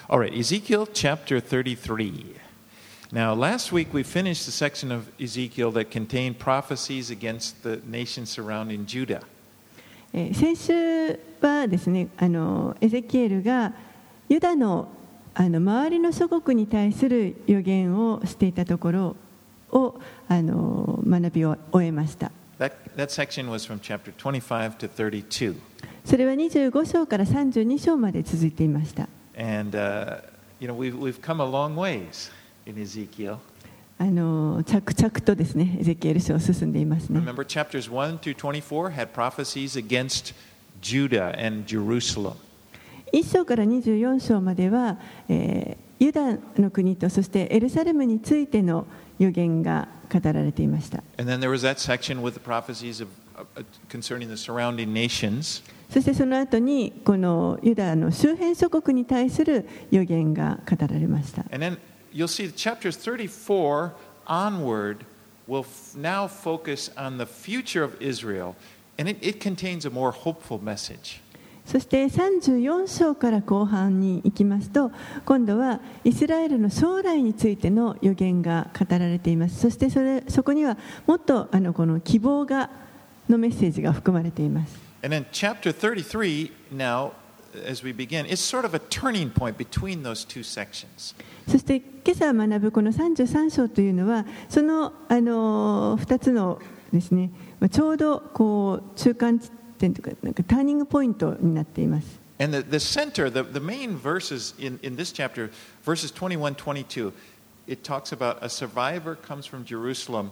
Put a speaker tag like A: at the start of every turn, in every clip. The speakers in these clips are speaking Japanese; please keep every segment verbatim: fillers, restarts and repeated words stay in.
A: All right, Ezekiel chapter thirty-three. Now, last week we finished the section of Ezekiel that contained prophecies against the nations surrounding Judah.
B: えー先週はですね、あのエゼキエルがユダのあの周りの諸国に対する予言をしていたところをあの学びを終えました。
A: That, that section was from chapter twenty-five to thirty-two.
B: それはにじゅうご章からさんじゅうに章まで続いていました。
A: And, uh, you know, we've, we've come a long ways in Ezekiel.
B: あの着々とですね、エゼキエル書を進んでいますね。
A: Remember, chapters one through twenty-four had prophecies against Judah and Jerusalem.
B: いっ章からにじゅうよん章までは、えーユダの国とそしてエルサレムについての予言が語られていました。
A: And then there was that section with the prophecies of, uh, concerning the surrounding nations.
B: そしてその後にこのユダの周辺諸国に対する予言が語られました。
A: And then you'll see chapters thirty-four onward will f- now focus on the future of Israel, and it, it contains a more hopeful message.
B: そしてさんじゅうよん章から後半に行きますと、今度はイスラエルの将来についての予言が語られています。そしてそれそこにはもっとあのこの希望がのメッセージが含まれています。
A: And then chapter thirty-three now, as we begin, is sort of a turning point between those two sections.
B: そして今朝学ぶこのさんじゅうさん章というのはそのあのふたつのですね、ちょうどこう中間地点というかなんかターニングポイントになっています。
A: And the, the center, the, the main verses in, in this chapter, verses twenty-one, twenty-two, it talks about a survivor comes from Jerusalem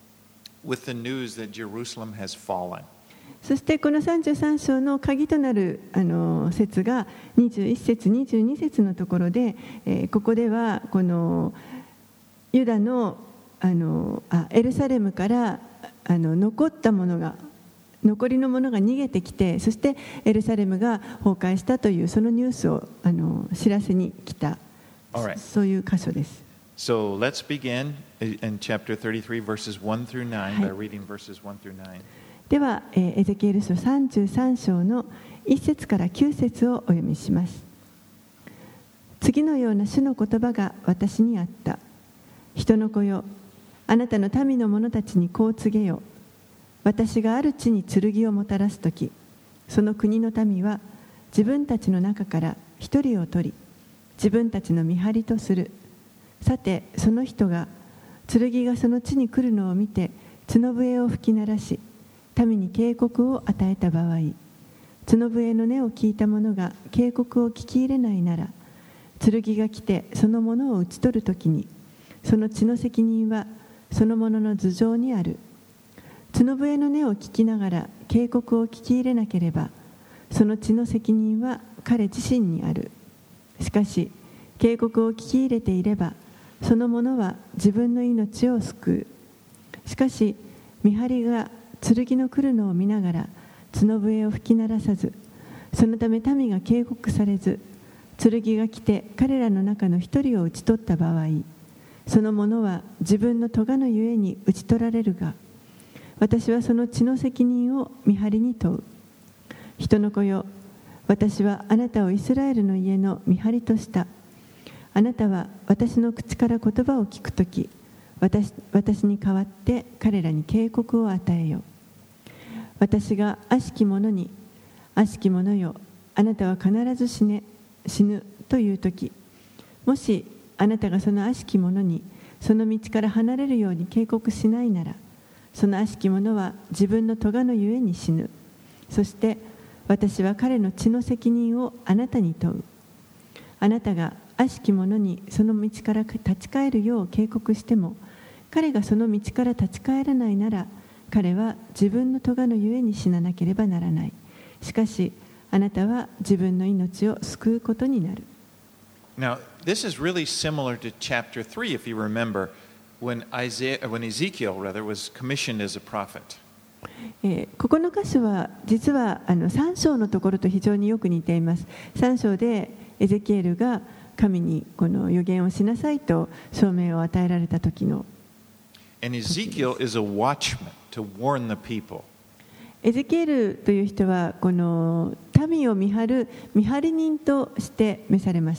A: with the news that Jerusalem has fallen.
B: そしてこのさんじゅうさん章の鍵となるあの節がにじゅういち節にじゅうに節のところで、えーここではこのユダのあのあエルサレムからあの残ったものが残りのものが逃げてきて、そしてエルサレムが崩壊したというそのニュースをあの知らせに来た、
A: Alright.
B: そういう箇所です。
A: So let's begin in chapter thirty-three, verses one through nine, by reading verses one through nine.
B: では、えーエゼキエル書さんじゅうさん章のいち節からきゅう節をお読みします。次のような主の言葉が私にあった。人の子よ、あなたの民の者たちにこう告げよ。私がある地に剣をもたらすとき、その国の民は自分たちの中から一人を取り、自分たちの見張りとする。さて、その人が剣がその地に来るのを見て角笛を吹き鳴らし、民に警告を与えた場合、角笛の音を聞いた者が警告を聞き入れないなら、剣が来てその者を討ち取るときに、その血の責任はその者の頭上にある。角笛の音を聞きながら警告を聞き入れなければ、その血の責任は彼自身にある。しかし、警告を聞き入れていれば、その者は自分の命を救う。しかし、見張りが剣の来るのを見ながら角笛を吹き鳴らさず、そのため民が警告されず、剣が来て彼らの中の一人を討ち取った場合、その者は自分の咎のゆえに討ち取られるが、私はその血の責任を見張りに問う。人の子よ、私はあなたをイスラエルの家の見張りとした。あなたは私の口から言葉を聞くとき、私, 私に代わって彼らに警告を与えよ。私が悪しき者に、悪しき者よ、あなたは必ず死ね、死ぬというとき、もしあなたがその悪しき者にその道から離れるように警告しないなら、その悪しき者は自分の咎のゆえに死ぬ。そして私は彼の血の責任をあなたに問う。あなたが悪しき者にその道から立ち返るよう警告しても、彼がその道から立ち返らないなら、彼は自分の咎のゆえに死ななければならない。しかしあなたは自分の命を救うことになる。
A: Now, this is really similar to chapter three, if you remember, when, Isaiah, when Ezekiel rather, was commissioned as a prophet.
B: えーここの箇所は実はあのさん章のところと非常によく似ています。さん章でエゼキエルが神にこの予言をしなさいと証明を与えられた時の。
A: And Ezekiel is a watchman to warn the people.
B: エゼキエルという人はこの民を見張る見張り人として召されました。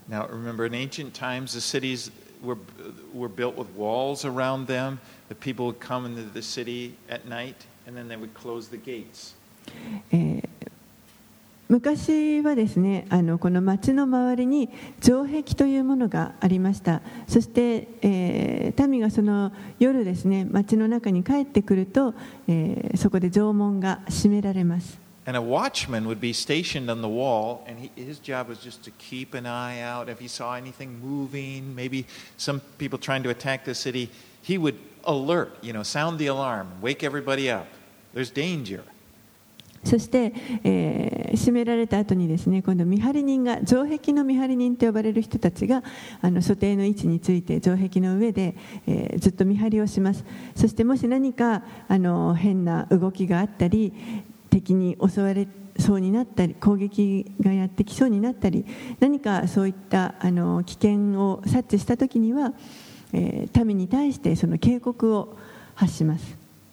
A: Now, remember, in ancient times, the cities were, were built with walls around them. The people would come into the city at night, and then they would close the gates.
B: えー昔はですね、あのこの町の周りに城壁というものがありました。そして、えー、民がその夜ですね、町の中に帰ってくると、えー、そこで城門が閉められます。
A: And a watchman would be stationed on the wall, and he, his job was just to keep an eye out. If he saw anything moving, maybe some people trying to attack the city, he would alert, you know, sound the alarm, wake everybody up. There's danger.
B: そして、えー、閉められた後にですね、今度見張り人が、城壁の見張り人と呼ばれる人たちがあの所定の位置について城壁の上で、えー、ずっと見張りをします。そしてもし何かあの変な動きがあったり、敵に襲われそうになったり、攻撃がやってきそうになったり、何かそういったあの危険を察知したときには、えー、民に対してその警告を発します。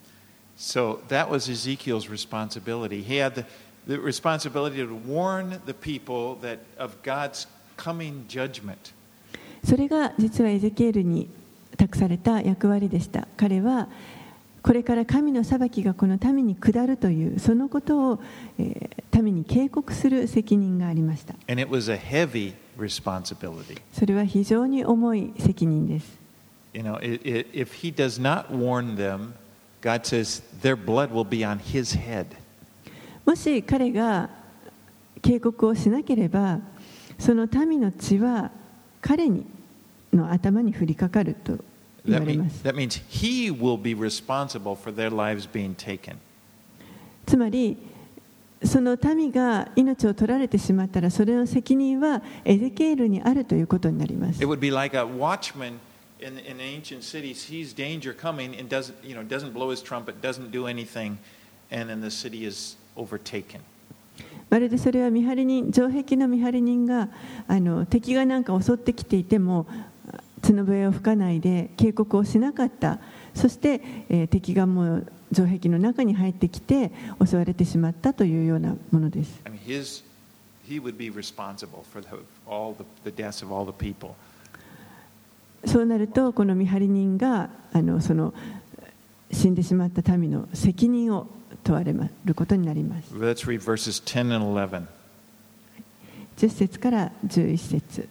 A: So that was Ezekiel's responsibility. He had the, the responsibility to warn the people that of God's coming judgment.
B: それが実はエゼキエルに託された役割でした。彼はこれから神の裁きがこの民に下るというそのことを、えー、民に警告する責任がありました。
A: And it was a heavy responsibility.
B: それは非常に重い責任です。
A: You know, it, it, if he does not warn them, God says their blood will be on his head.
B: もし彼が警告をしなければ、その民の血は彼にの頭に降りかかると言われます。
A: That means he will be responsible for their lives being taken.
B: つまり、その民が命を取られてしまったら、それの責任はエゼキエルにあるということになります。
A: It would be like a watchman in, in ancient cities. Sees danger coming and doesn't, you know, doesn't blow his trumpet, doesn't do anything, and then the city is overtaken.
B: まるでそれは見張り人、城壁の見張り人があの敵がなんか襲ってきていても角笛を吹かないで警告をしなかった。そして、えー、敵がもう城壁の中に入ってきて襲われてしまったというようなものです。
A: I mean, his, he would be responsible for the, all the, the deaths of all the people.
B: そうなるとこの見張り人があのその死んでしまった民の責任を問われることになります。
A: Let's read verses ten and eleven.
B: じゅっ節からじゅういち節。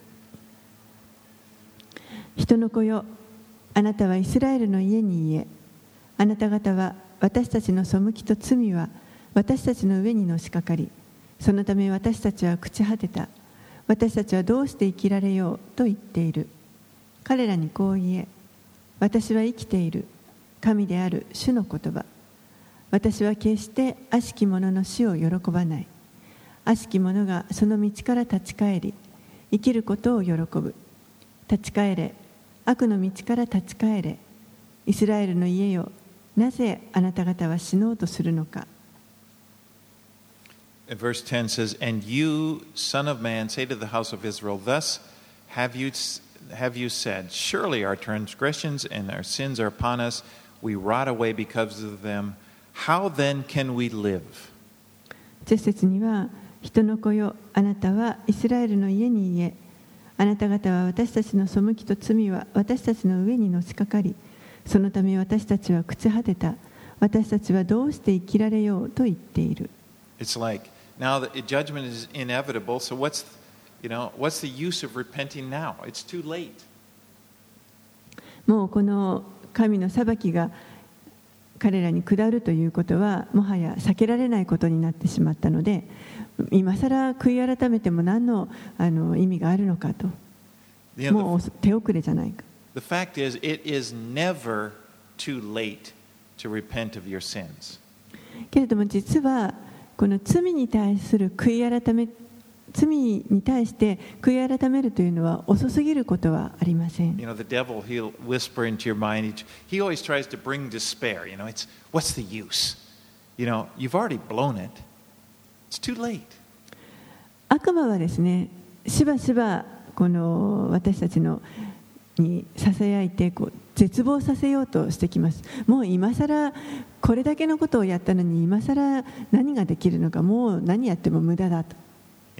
B: 人の子よ、あなたはイスラエルの家に言え、あなた方は私たちの背きと罪は私たちの上にのしかかり、そのため私たちは朽ち果てた。私たちはどうして生きられようと言っている。彼らにこう言え、私は生きている。神である主の言葉。私は決して悪しき者の死を喜ばない。悪しき者がその道から立ち返り、生きることを喜ぶ。立ち返れ、悪の道から立ち返れ。イスラエルの家よ、なぜあなた方は死のうとするのか。
A: Verse ten says, And you, son of man, say to the house of Israel, Thus have you, have you said, Surely our transgressions and our sins are upon us. We rot away because of them. How then can we live?
B: じゅっ節には、人の子よ、あなたはイスラエルの家に言え、あなた方は私たちの背きと罪は私たちの上にのしかかり、そのため私たちは朽ち果てた。私たちはどうして生きられようと言っている。
A: It's like, now the judgment is inevitable, so what's, you know, what's the use of repenting now? It's too late.
B: もうこの神の裁きが彼らに下るということはもはや避けられないことになってしまったので、今さら悔い改めても何の、あの意味があるのかと、もう手遅れじゃないか。
A: The fact is, it is never too late to repent of your sins.
B: けれども実はこの罪に対する悔い改め、罪に対して悔い改めるというのは遅すぎることはありません。
A: You know, the devil, he'll whisper into your mind. He always tries to bring despair. You know, it's what's the use? You know, you've already blown it. It's too late.
B: 悪魔はですね、しばしばこの私たちのにささやいてこう絶望させようとしてきます。もう今さらこれだけのことをやったのに今さら何ができるのか、もう何やっても無駄だと。
A: You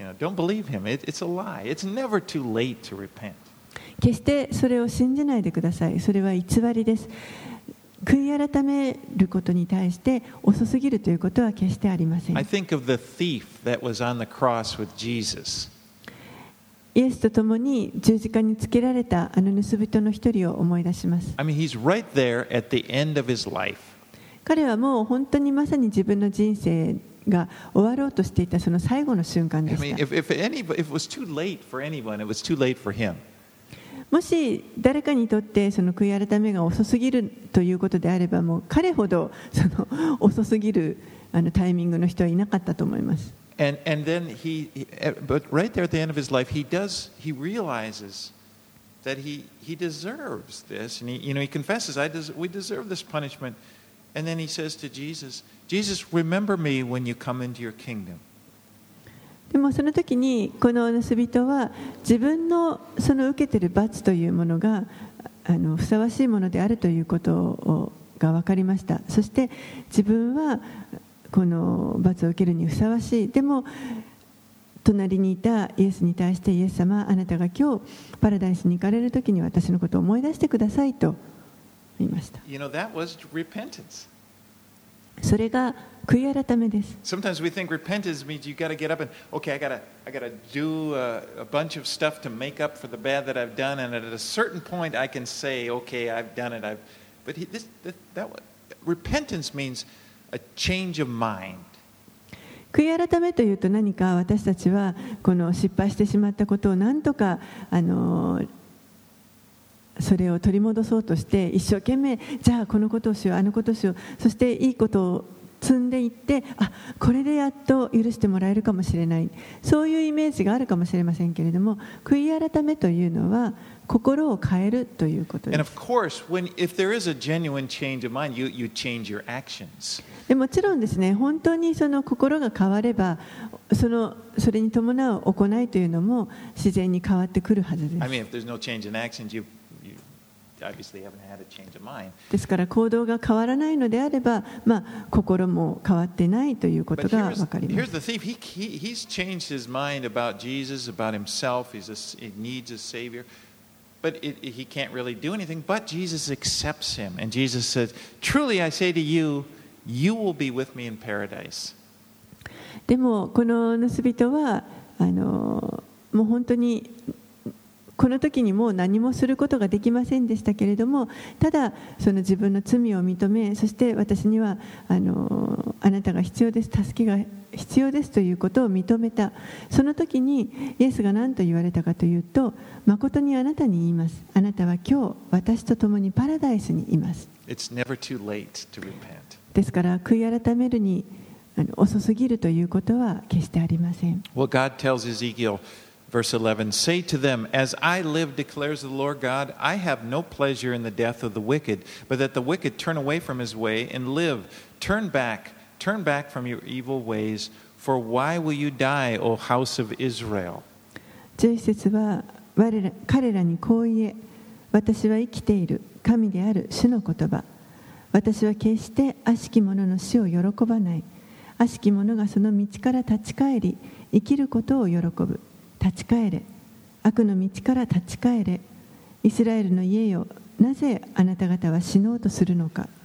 A: You know, don't believe him. It, it's a lie. It's never too late to repent.
B: 決してそれを信じないでください。それは偽りです。悔い改めることに対して遅すぎるということは決してありません。
A: I think of the thief that was on the cross with Jesus.
B: イエスと共に十字架につけられたあの盗人の一人を思い出します。
A: I mean, he's right there at the end of his life.
B: 彼はもう本当にまさに自分の人生が終わろうとしていたその最後の瞬間で
A: I
B: し
A: mean,
B: た。
A: if, if, any, if it was too late for anyone, it was too late for him.
B: もし誰かにとってその悔い改めが遅すぎるということであれば、もう彼ほどその遅すぎるあのタイミングの人はいなかったと思います。
A: And, and then he, he, but right there at the end of his life, he does, he realizes that he, he deserves this. And he, you know, he confesses, I des- we deserve this punishment. And then he says to Jesus, Jesus, remember me when you come into your kingdom.
B: でもその時にこの盗人は自分のその受けている罰というものがあのふさわしいものであるということをが分かりました。そして自分はこの罰を受けるにふさわしい。でも隣にいたイエスに対して、イエス様、あなたが今日パラダイスに行かれる時に私のことを思い出してくださいと言いました。
A: You know, that was repentance.
B: それが悔い改めです。
A: Sometimes we think repentance means you got to get up and, okay, I got to I got to do a, a bunch of stuff to make up for the bad that I've done, and at a certain point I can say, okay, I've done it. I've, but he, this, that, that repentance means a change of mind.
B: 悔い改めというと何か私たちはこの失敗してしまったことを何とかあのそれを取り戻そうとして一生懸命じゃあこのことをしようあのことをしよう、そしていいことを積んでいって、あ、これでやっと許してもらえるかもしれない、そういうイメージがあるかもしれませんけれども、悔い改めというのは心を変えるということです。
A: And of course, when, if there is a genuine change of mind, you, you change your actions.
B: でもちろんですね、本当にその心が変わればそのそれに伴う行いというのも自然に変わってくるはずです。
A: I mean, if there's no change in actions, you, you obviously haven't had a change of mind.
B: ですから行動が変わらないのであれば、まあ、心も変わってないということ
A: But
B: が
A: here's,
B: 分かりま
A: here's
B: す。
A: the thief. He, he, he's changed his mind about Jesus, about himself. He's a, he needs a Savior. But it, it, he can't really do anything. But Jesus accepts him. And Jesus says, truly I say to you, you will be with me in paradise.
B: でもこの盗人はあのもう本当にこの時にもう何もすることができませんでしたけれども、ただその自分の罪を認め、そして私にはあのあなたが必要です、助けが必要ですということを認めた。その時にイエスが何と言われたかというと、誠にあなたに言います、あなたは今日私と共にパラダイスにいます。
A: It's never too late to repent.
B: ですから悔い改めるにあの遅すぎるということは決してありません。
A: Well, God tells Ezekiel, verse eleven, say to them, as I live, declares the Lord God, I have no pleasure in the death of the wicked, but that the wicked turn away from his way and live. Turn back, turn back from your evil ways, for why will you die, O house of Israel?
B: じゅういち節は我ら彼らにこう言え、私は生きている神である主の言葉、私は決して悪しき者の死を喜ばない。悪しき者がその道から立ち返り生きることを喜ぶ。立ち返れ、悪の道から立ち返れ。イスラエルの家よ、なぜあなた方は死のうとするのか。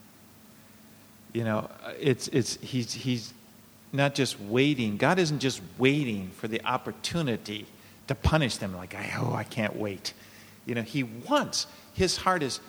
A: You know, it's, it's, he's, he's not just waiting. God isn't just waiting for the opportunity to punish them like, oh, I can't wait. You know, he wants, his heart is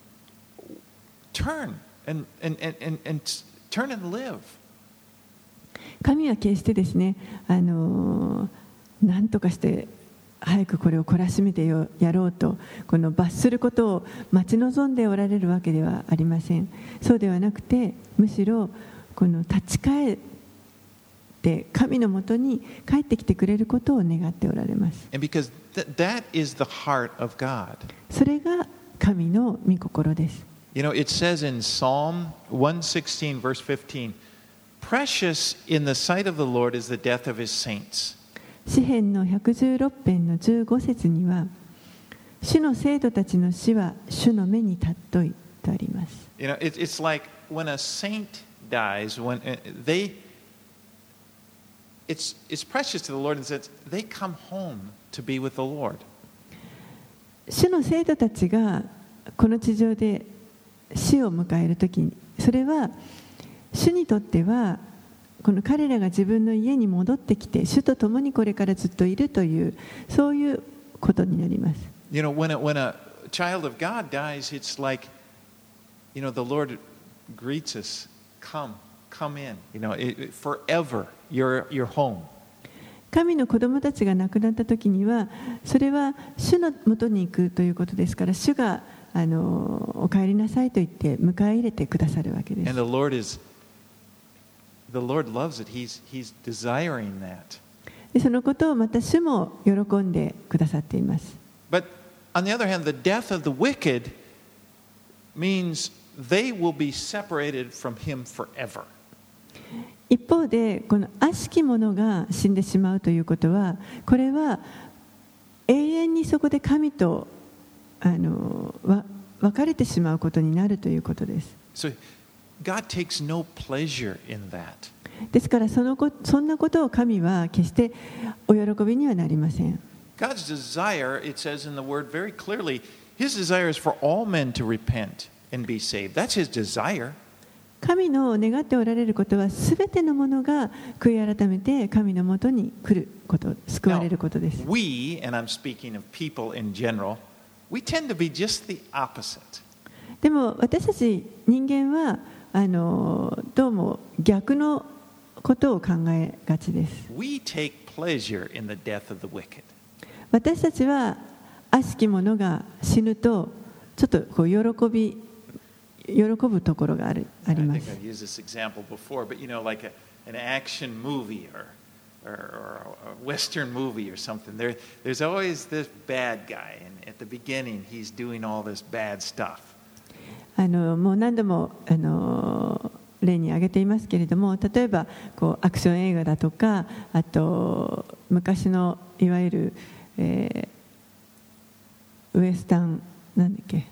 A: turn and, and, and, and, and turn and live.
B: 神は決してですね、あの何とかして早くこれを懲らしめてやろうとこの罰することを待ち望んでおられるわけではありません。そうではなくて、むしろこの立ち返って神のもとに帰ってきてくれることを願っておられます。
A: And because th- that is the heart of God.
B: それが神の御心です。
A: You know, it says in Psalm one sixteen, verse fifteen, precious in the sight of the Lord is the death of his saints.
B: 詩編のひゃくじゅうろく編のじゅうご節には、主の生徒たちの死は主の目に尊いとあります。
A: You know, it, it's like when a saint dies, when uh, they it's, it's precious to the Lord in the sense they come home to be with the Lord.
B: 主の生徒たちがこの地上で死を迎えるときに、それは主にとってはこの彼らが自分の家に戻ってきて主と共にこれからずっといるというそういうことになります。
A: You know, when a, when a child of God dies, it's like, you know, the Lord greets us, come, come in, you know, it, forever, you're, you're home.
B: 神の子供たちが亡くなったときには、それは主のもとに行くということですから、主があのお帰りなさいと言って迎え入れてくださるわけです。
A: And the Lord is, the Lord loves it. He's, he's desiring that.
B: でそのことをまた主も喜んでくださっています。
A: But on the other hand, the death of the wicked means they will be separated from Him forever.
B: 一方でこの悪しき者が死んでしまうということは、これは永遠にそこで神とあのわ別れてしまうことになるということです。
A: So God takes no pleasure in that.
B: ですからそのこそんなことを神は決してお喜びにはなりません。
A: God's desire, it says in the Word very clearly, His desire is for all men to repent and be saved. That's His desire.
B: 神の願っておられることは、すべてのものが悔い改めて神のもとに来ること、救われることです。
A: Now, we, and I'm speaking of people in general, we tend to be just the opposite.
B: でも私たち人間はあのどうも逆のことを考えがちです。
A: We take pleasure in the death of the wicked.
B: 私たちは悪しき者が死ぬとちょっとこう喜び喜ぶところがあるあります。
A: I think I've used this example before, but you know, like a, an action movie or, or, or a Western movie or something. There, there's always this bad guy, and at the beginning, he's doing all this bad stuff.
B: あのもう何度もあの例に挙げていますけれども、例えばこうアクション映画だとか、あと昔のいわゆる、えー、ウエスタンなんだっけ。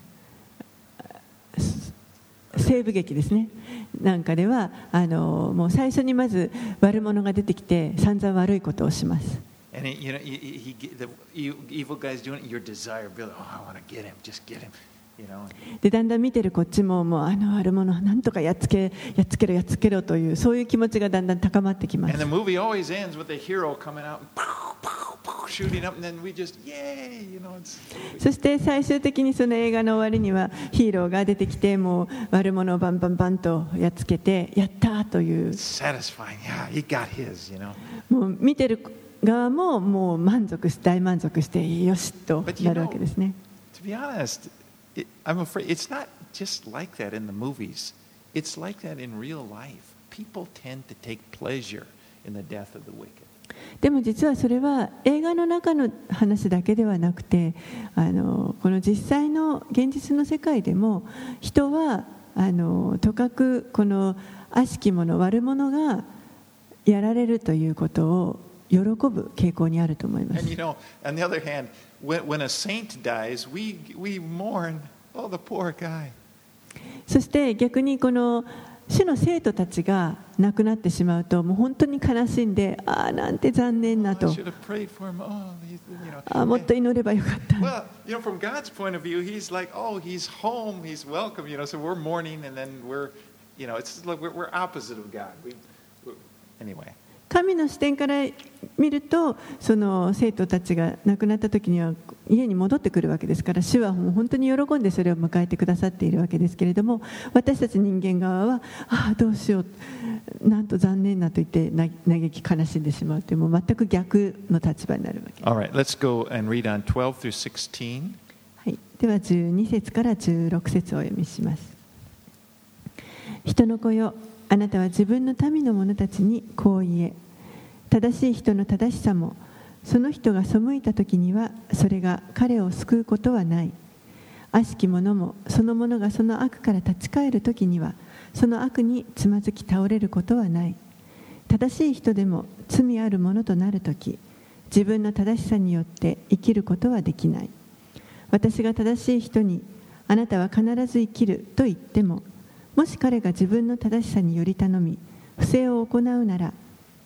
B: 西部劇ですねなんかではあのもう最初にまず悪者が出てきて散々悪いことをします。
A: And he, you know, he, he, the evil guy's doing it. Your desire, Bill. Oh, I want to get him. Just get him. You know.
B: でだんだん見てるこっちももうあの悪者なんとかやっつけやっつけろやっつけろというそういう気持ちがだんだん高まってきます。
A: And the movie always ends with the hero coming out, shooting up, and then we just yay, you know.
B: そして最終的にその映画の終わりにはヒーローが出てきてもう悪者をバンバンバンとやっつけてやったという。
A: Satisfying, yeah, he got his, you know.
B: もう見てる側ももう満足し大満足してよしとなるわけですね。
A: To be honest, it, I'm afraid it's not just like that in the movies. It's like that in real life. People tend to take pleasure in the death of the wicked.
B: でも実はそれは映画の中の話だけではなくて、あのこの実際の現実の世界でも人はあのとかくこの悪しき者悪者がやられるということを喜ぶ傾向にあると思います。
A: And you know, on the other hand, when, when a saint dies, we, we mourn, oh, the poor guy.
B: そして逆にこの主の生徒たちが亡くなってしまうともう本当に悲しんで、ああなんて残念なと、ああもっと祈ればよかった。
A: Well, you know, from God's point of view, He's like, oh, He's home, He's welcome, you know. So we're mourning, and then we're, you know, it's like we're, we're opposite of God. We, we're, anyway.
B: 神の視点から見ると、その生徒たちが亡くなった時には家に戻ってくるわけですから、主はもう本当に喜んでそれを迎えてくださっているわけですけれども、私たち人間側はああどうしよう、なんと残念なと言って嘆き悲しんでしまうという、もう全く逆の立場になるわけです。
A: All right, let's go and read on twelve through sixteen.
B: はい、ではじゅうに節からじゅうろく節をお読みします。人の子よ、あなたは自分の民の者たちにこう言え、正しい人の正しさもその人が背いた時にはそれが彼を救うことはない。悪しき者もその者がその悪から立ち返る時にはその悪につまずき倒れることはない。正しい人でも罪ある者となる時、自分の正しさによって生きることはできない。私が正しい人にあなたは必ず生きると言っても、もし彼が自分の正しさにより頼み不正を行うなら、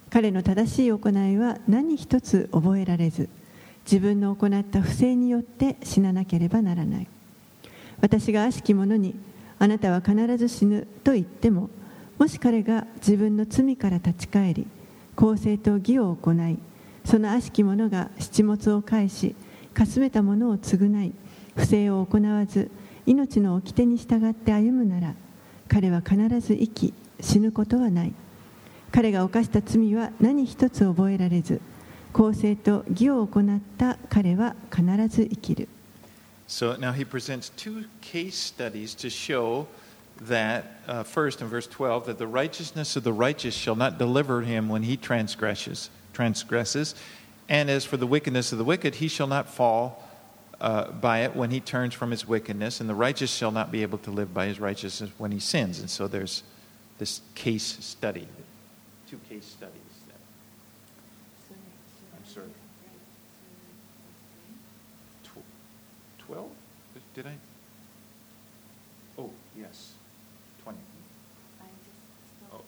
B: 彼の正しい行いは何一つ覚えられず、自分の行った不正によって死ななければならない。私が悪しき者に、あなたは必ず死ぬと言っても、もし彼が自分の罪から立ち返り、公正と義を行い、その悪しき者が七物を返し、かすめたものを償い、不正を行わず、命の掟に従って歩むなら、彼は必ず生き、死ぬことはない。彼が犯した罪は何一つ覚えられず、公正と義を行った彼は必ず生きる。
A: So now he presents two case studies to show that, uh, first in verse twelve, that the righteousness of the righteous shall not deliver him when he transgresses, transgresses, and as for the wickedness of the wicked, he shall not fall uh, by it when he turns from his wickedness, and the righteous shall not be able to live by his righteousness when he sins. And so there's this case study, two case studies. I'm sorry. twelve? Did I? Oh, yes. twenty. Oh.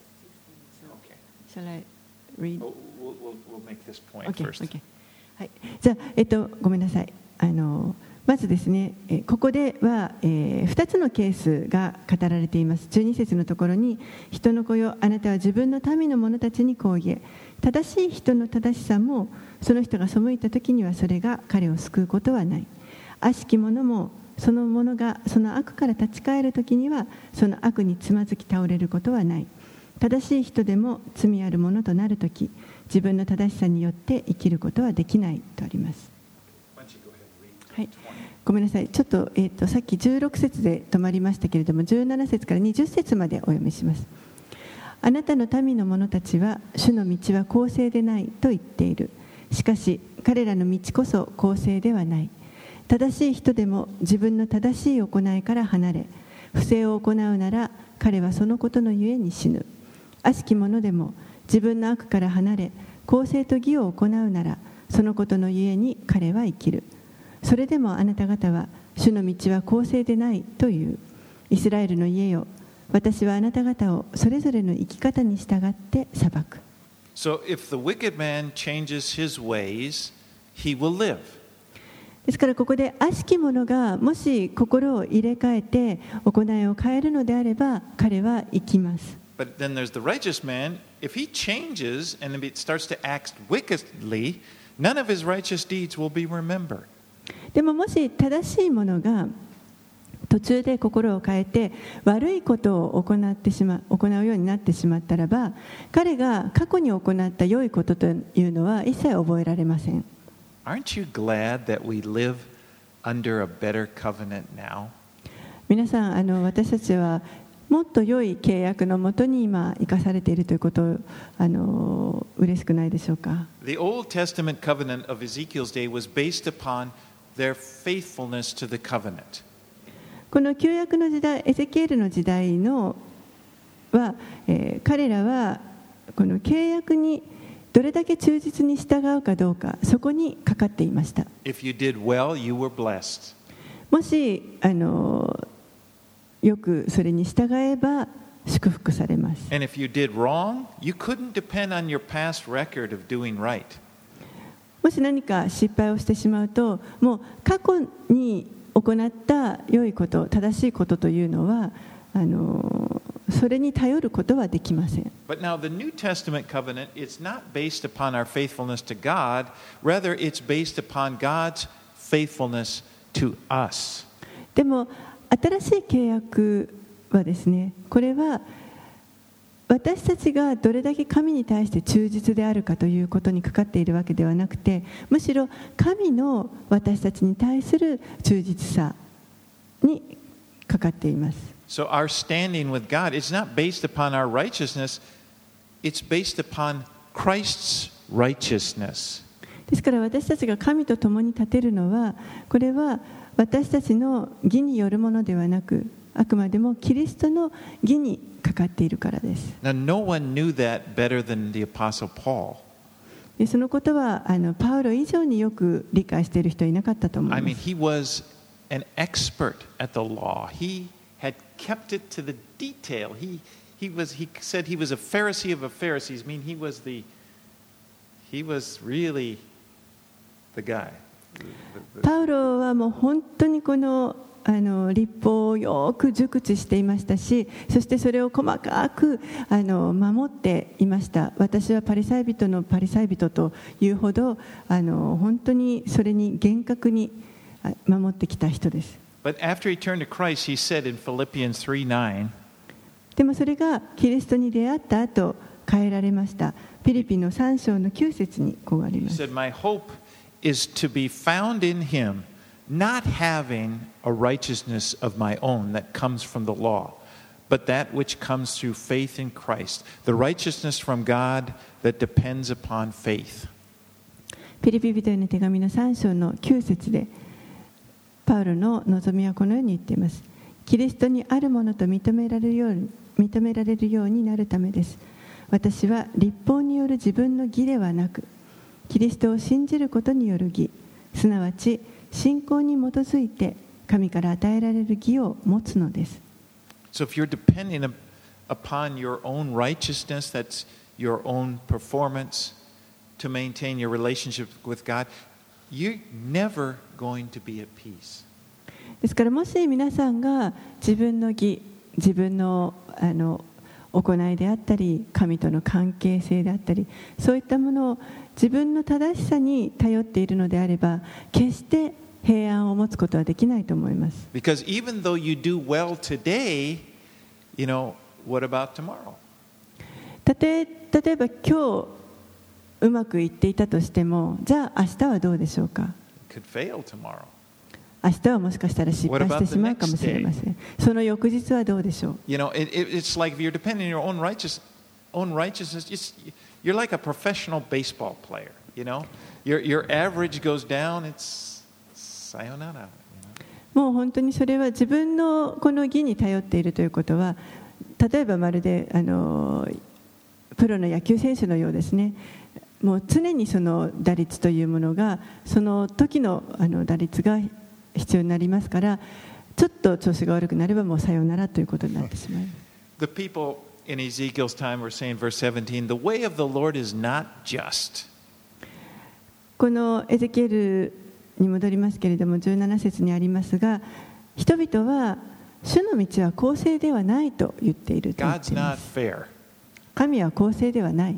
A: Okay.
B: Shall I read?
A: Oh, we'll, we'll, we'll make this point
B: Okay,
A: first.
B: okay. はい、じゃあ、えっと、ごめんなさい。あのまずですね、えここでは、えー、ふたつのケースが語られています。じゅうに節のところに、人の子よ、あなたは自分の民の者たちにこう言え。正しい人の正しさも、その人が背いた時にはそれが彼を救うことはない。悪しき者もその者がその悪から立ち返るときにはその悪につまずき倒れることはない。正しい人でも罪ある者となるとき、自分の正しさによって生きることはできないとあります。はい、ごめんなさい。ちょっと、えーと、さっきじゅうろく節で止まりましたけれども、じゅうなな節からにじゅう節までお読みします。あなたの民の者たちは主の道は公正でないと言っている。しかし彼らの道こそ公正ではない。正しい人でも自分の正しい行いから離れ、不正を行うなら彼はそのことのゆえに死ぬ。悪しき者でも自分の悪から離れ、公正と義を行うならそのことのゆえに彼は生きる。それでもあなた方は主の道は公正でないという。イスラエルの家よ、私はあなた方をそれぞれの生き方に従って裁く。
A: So if the wicked man changes his ways, he will live.
B: ですからここで悪しき者がもし心を入れ替えて行いを変えるのであれば彼は生きます。
A: But then there's the righteous man. If he changes and starts to act wickedly, none of his righteous deeds will be remembered.
B: でももし正しい者が途中で心を変えて悪いことを行ってしまう、行うようになってしまったらば、彼が過去に行った良いことというのは一切覚えられません。
A: Aren't you glad that we live under a better covenant now?
B: 皆さん、あの私たちはもっと良い契約のもとに今生かされているということをあの嬉しくないでしょうか。
A: The Old Testament covenant of Ezekiel's day was based upon their faithfulness to the covenant.
B: この旧約の時代、エゼキエルの時代のは、えー、彼らはこの契約にどれだけ忠実に従うかどうか、そこにかかっていました。
A: If you did well, you were blessed.
B: もしあのよくそれに従えば祝福されます。
A: And if you did wrong, you couldn't depend on your past record of doing right.
B: もし何か失敗をしてしまうと、もう過去に行った良いこと、正しいことというのはあのそれに頼ることはできません。
A: But now the New Testament covenant, it's not based upon our faithfulness to God, rather it's based upon God's faithfulness to us.
B: でも新しい契約はですね、これは私たちがどれだけ神に対して忠実であるかということにかかっているわけではなくて、むしろ神の私たちに対する忠実さにかかっています。
A: So our standing with God is not based upon our righteousness, it's based upon Christ's righteousness.
B: ですから私たちが神と共に立てるのは、これは私たちの義によるものではなく、あくまでもキリストの義にかかっているからです。
A: Now, no one knew that better than the Apostle Paul.
B: でそのことはあのパウロ以上によく理解している人はいなかったと思います。
A: I mean, he was an expert at the law. He had kept it to the detail. He, he was he said he was a Pharisee of a Pharisees. I mean, he was the he was really the guy.
B: パウロはもう本当にこのあの律法をよく熟知していましたし、そしてそれを細かくあの守っていました。私はパリサイ人のパリサイ人というほどあの本当にそれに厳格に守ってきた人です。
A: But after he turned to Christ, he said in Philippians three nine,
B: でもそれがキリストに出会った後変えられました。ピリピのさん章のきゅう節にこうありま
A: he
B: す。
A: said, "My hope is to be found in him, not having a righteousness of my own that comes from the law, but that which comes through faith in Christ, the righteousness from God that depends upon faith."
B: ピリピ人への手紙のさん章のきゅう節でパウロの望みはこのように言っています。キリストにあるものと認められるように、認められるようになるためです。私は律法による自分の義ではなく、キリストを信じることによる義、すなわち信仰に基づいて神から与えられる義を持つのです。
A: So if you're depending upon your own righteousness, that's your own performance to maintain your relationship with God, you're never going to be at peace.
B: ですからもし皆さんが自分の義、自分のあの行いであったり、神との関係性であったり、そういったものを自分の正しさに頼っているのであれば、決して平安を持つことはできないと思います。
A: Because even though you do well today, you know, what about tomorrow?
B: たとえ例えば今日うまくいっていたとしても、じゃあ明日はどうでしょうか。
A: It could fail tomorrow.
B: 明日はもしかしたら失敗してしまうかもしれません。その翌日はどうでしょう。
A: You know, it, it, it's like if you're depending on your own righteous, own righteousness. Just, you're like a professional baseball player. You know, your your average goes down. It's sayonara.
B: もう本当にそれは自分のこの義に頼っているということは、例えばまるであのプロの野球選手のようですね。もう常にその打率というものがその時のあの打率が必要になりますから、ちょっと調子が悪くなればもうさようならということになってしまう。
A: The people in Ezekiel's time were saying, verse seventeen, the way of the Lord is not just.
B: このエゼキエルに戻りますけれども、じゅうなな節にありますが、人々は主の道は公正ではないと言っていると言っています。神は公正ではない。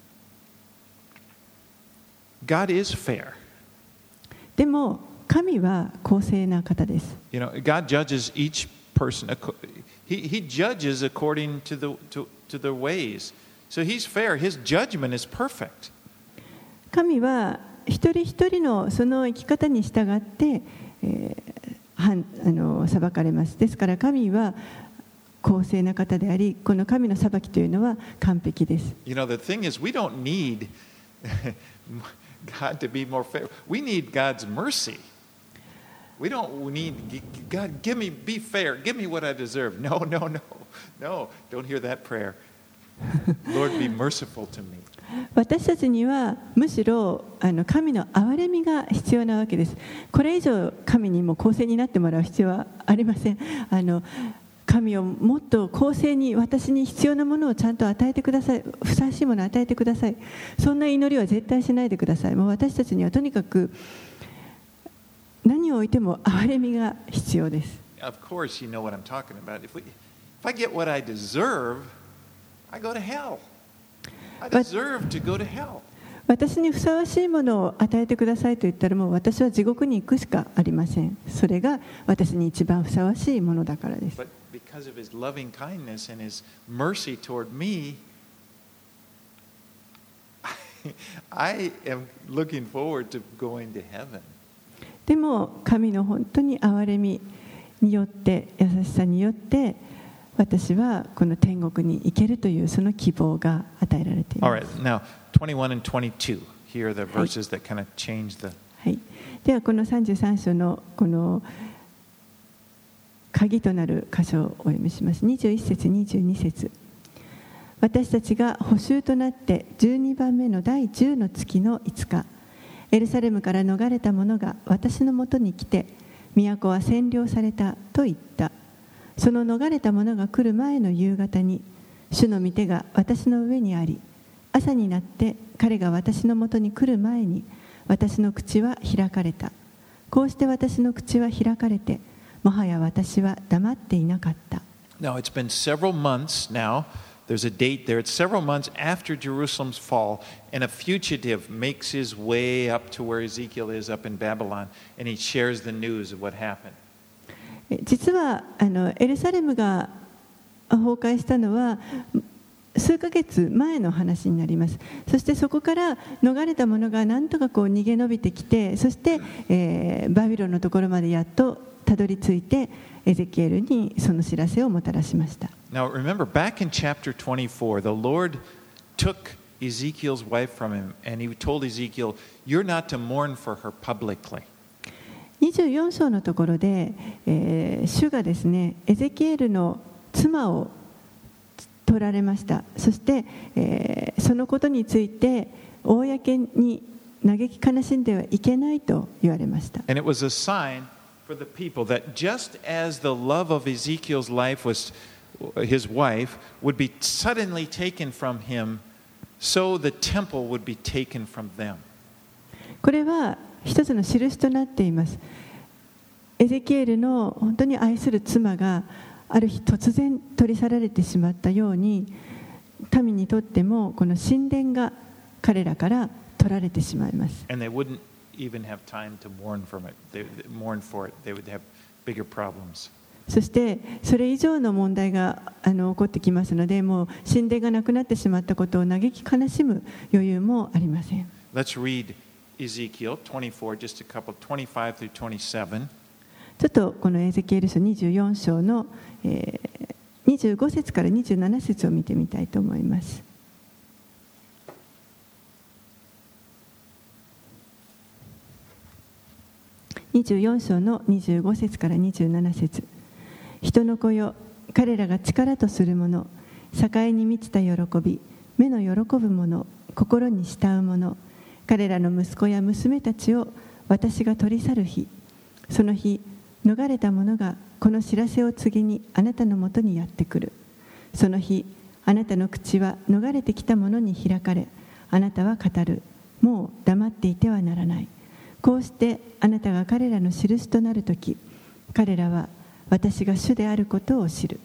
A: God is fair.
B: でも神は公正な方です。
A: You know, God judges each person. He, he judges according to the, to, to their ways. So he's fair. His judgment is perfect.
B: 神は一人一人のその生き方に従って、えー、あの裁かれます。ですから神は公正な方であり、この神の裁きというのは完璧です。
A: You know, the thing is, we don't need God to be more fair. We need God's mercy. We don't need God, give me, be fair, give me what I deserve. No, no, no, no, don't hear that prayer. Lord, be merciful to me.
B: 私たちにはむしろあの神の憐れみが必要なわけです。これ以上神にも公正になってもらう必要はありません。あの神をもっと公正に私に必要なものをちゃんと与えてください。ふさわしいものを与えてください。そんな祈りは絶対しないでください。もう私たちにはとにかく何を置いても憐れみが必要です。
A: Of course, you know what I'm talking about. If, we, if I get what I deserve, I go to hell. I deserve to go to hell.
B: 私にふさわしいものを与えてくださいと言ったら、もう私は地獄に行くしかありません。それが私に一番ふさわしいものだからです。
A: But because of his loving kindness and his mercy toward me, I am looking forward to going to heaven.
B: でも神の本当に憐れみによって、優しさによって私はこの天国に行けるというその希望が与えられています。
A: All right, now twenty-one and twenty-two. Here are the verses that kind of change the.
B: はい。ではこのさんじゅうさん章のこの鍵となる箇所をお読みします。にじゅういち節、にじゅうに節。私たちが捕囚となってじゅうにばんめの第じゅうの月のいつか、エルサレムから逃れた者が私のもとに来て、都は占領されたと言った。その逃れた者が来る前の夕方に、 主の御手が私の上にあり、朝になって彼が私のもとに来る前に私の口は開かれた。こうして私の口は開かれて、もはや私は黙っていなかった。
A: Now it's been several months now. There's a date there. It's several months after Jerusalem's fall, and a fugitive makes his way up to where Ezekiel is up in Babylon, and he shares the news of what happened.
B: 実はあのエルサレムが崩壊したのは数ヶ月前の話になります。そしてそこから逃れた者が何とかこう逃げ延びてきて、そして、えー、バビロンのところまでやっとたどり着いて、エゼキエルにその知らせをもたらしました。
A: Now remember, back in chapter twenty-four, the Lord took Ezekiel's wife from him, and he told Ezekiel, "You're not to mourn for her publicly."
B: にじゅうよん章のところで、えー、主がですね、エゼキエルの妻を取られました。そして、えー、そのことについて公に嘆き悲しんではいけないと言われました。
A: And it was a sign for the people that just as the love of Ezekiel's life was his wife would be suddenly taken from him, so the temple would be taken from them.
B: これは一つの印となっています。エゼキエルの本当に愛する妻がある日突然取り去られてしまったように、民にとってもこの神殿が彼らから取られてしまいます。
A: And they wouldn't even have time to mourn from it. They mourn for it. They would have bigger problems.
B: そしてそれ以上の問題があの起こってきますので、もう神殿がなくなってしまったことを嘆き悲しむ余裕もありません。
A: Let's read Ezekiel twenty-four, just a couple, twenty-five through twenty-seven.
B: ちょっとこのエゼキエル書にじゅうよん章の、えー、にじゅうご節からにじゅうなな節を見てみたいと思います。にじゅうよん章のにじゅうご節からにじゅうなな節。人の子よ、彼らが力とするもの、栄に満ちた喜び、目の喜ぶもの、心に慕うもの、彼らの息子や娘たちを私が取り去る日、その日、逃れた者がこの知らせを告げにあなたのもとにやってくる。その日、あなたの口は逃れてきた者に開かれ、あなたは語る。もう黙っていてはならない。こうしてあなたが彼らの印となるとき、彼らは私が主であることを知る。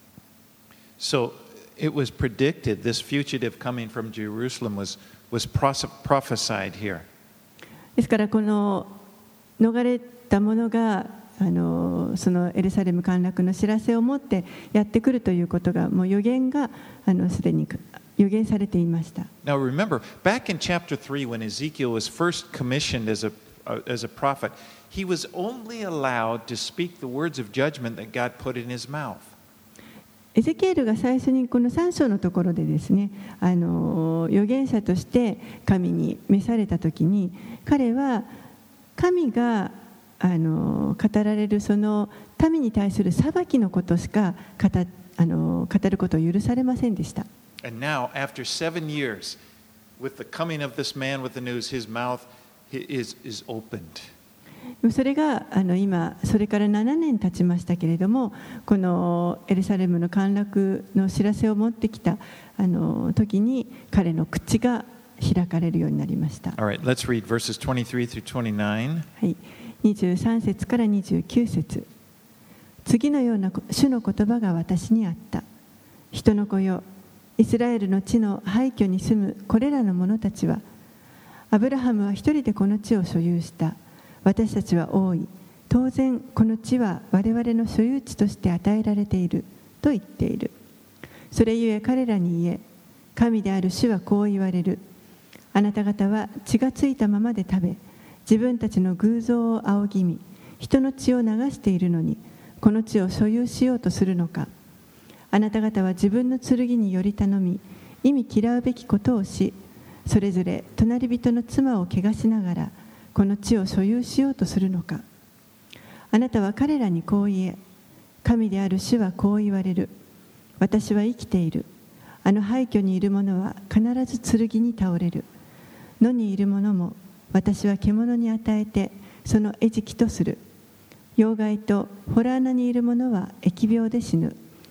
A: So it was predicted this fugitive coming from Jerusalem was, was prophesied here.
B: ですからこの逃れた者があのそのエルサレム陥落の知らせを持ってやってくるということがもう予言があのすでに予言されていました。
A: Now remember, back in chapter three, when Ezekiel was first commissioned as a, uh, as a prophet, he was only allowed to speak the words of judgment that God put in his mouth.
B: エゼキエルが最初にこのさん章のところでですね、あの預言者として神に召されたときに、彼は神があの語られるその民に対する裁きのことしか語あの語ることを許されませんでした。
A: And now, after seven years, with the coming of this man with the news, his mouth is, is opened.
B: それがあの今それからななねん経ちましたけれども、このエルサレムの陥落の知らせを持ってきたあの時に彼の口が開かれるようになりました。
A: All right, let's read verses twenty-three through twenty-nine.
B: はい、にじゅうさん節からにじゅうきゅう節。次のような主の言葉が私にあった。人の子よ、イスラエルの地の廃墟に住むこれらの者たちは、アブラハムは一人でこの地を所有した。私たちは多い。当然この地は我々の所有地として与えられていると言っている。それゆえ彼らに言え、神である主はこう言われる。あなた方は血がついたままで食べ、自分たちの偶像を仰ぎ見、人の血を流しているのに、この地を所有しようとするのか。あなた方は自分の剣により頼み、忌み嫌うべきことをし、それぞれ隣人の妻を汚しながら、この地を所有しようとするのか。あなたは彼らにこう言え、神である主はこう言われる。私は生きている。あの廃墟にいる者は必ず剣に倒れる。野にいる者も私は獣に与えてその餌食とする。妖害と洞穴にいる者は疫病で死ぬ。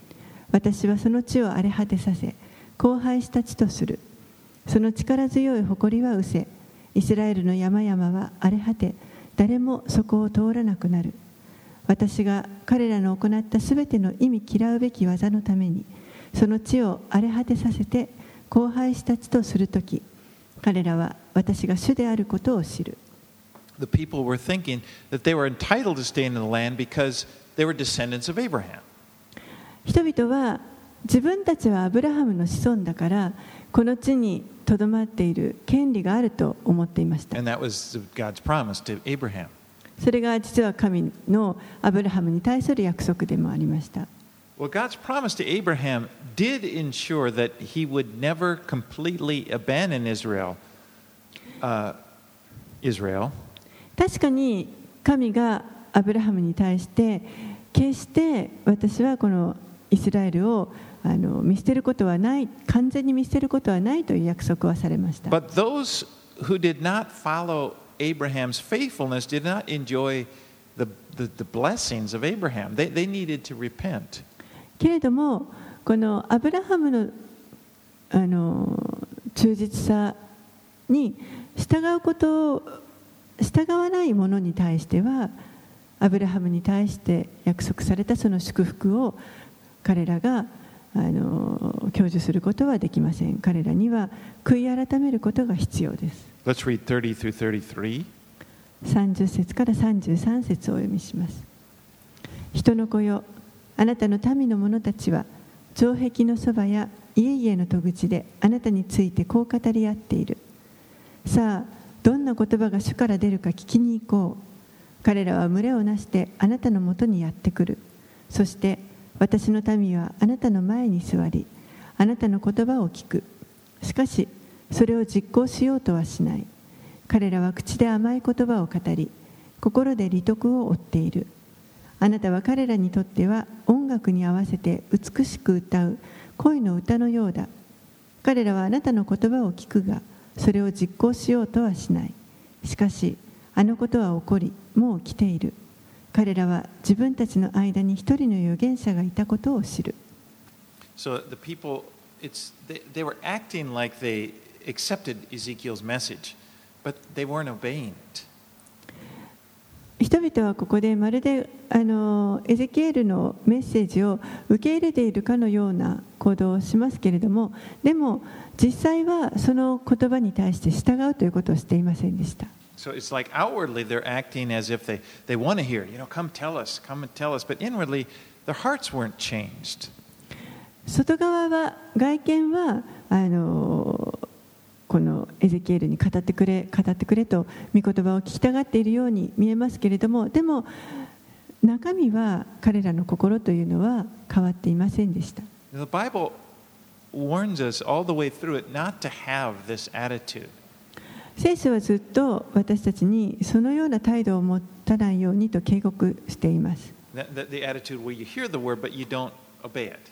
B: 私はその地を荒れ果てさせ、荒廃した地とする。その力強い誇りは失せ、イスラエルの山々は荒れ果て、誰もそこを通らなくなる。私が彼らの行ったすべての意味嫌うべき技のために、その地を荒れ果てさせて荒廃した地とするとき、彼らは私が主であることを知る。
A: The people were thinking that they were entitled to stay in the land because they were descendants of Abraham.
B: 人々は自分たちはアブラハムの子孫だからこの地にとどまっている権利があると思っていました。
A: And that was God's promise to Abraham.
B: それが実は神のアブラハムに対する約束でもありました。
A: Well, God's promise to Abraham did ensure that he would never completely abandon Israel. Uh, Israel.
B: 確かに神がアブラハムに対して決して私はこのイスラエルをあの見捨てることはない、完全に見捨てることはないという約束はされました。
A: But those who did not follow Abraham's faithfulness did not enjoy the, the, the blessings of Abraham. They, they needed to repent.
B: けれどもこのアブラハムの、あの忠実さに従うことを従わない者に対してはアブラハムに対して約束されたその祝福を彼らがあの享受することはできません。彼らには悔い改めることが必要です。
A: Let's read thirty through thirty-three.
B: さんじゅっ節からさんじゅうさん節をお読みします。人の子よ、あなたの民の者たちは城壁のそばや家々の戸口であなたについてこう語り合っている。さあどんな言葉が主から出るか聞きに行こう。彼らは群れをなしてあなたのもとにやってくる。そして私の民はあなたの前に座り、あなたの言葉を聞く。しかしそれを実行しようとはしない。彼らは口で甘い言葉を語り、心で利得を追っている。あなたは彼らにとっては音楽に合わせて美しく歌う恋の歌のようだ。彼らはあなたの言葉を聞くが、それを実行しようとはしない。しかしあのことは起こり、もう来ている。彼らは自分たちの間に一人の預言者がいたことを知る。
A: So the people, it's, they, they were acting like they accepted Ezekiel's message, but they weren't obeying it.
B: 人々はここでまるであのエゼキエルのメッセージを受け入れているかのような行動をしますけれども、でも実際はその言葉に対して従うということをしていませんでした。
A: So it's like outwardly they're acting as if they, they want to hear, you know, come tell us, come and tell us, but inwardly their hearts weren't changed.
B: 外側は外見はあのこのエゼキエルに語ってくれ語ってくれと御言葉を聞きたがっているように見えますけれども、でも中身は彼らの心というのは変わっていませんでした。
A: The Bible warns us all the way through it not to have this attitude.
B: 聖書はずっと私たちにそのような態度を持たないようにと警告しています。
A: The, the, the attitude where you hear the word but you don't obey it.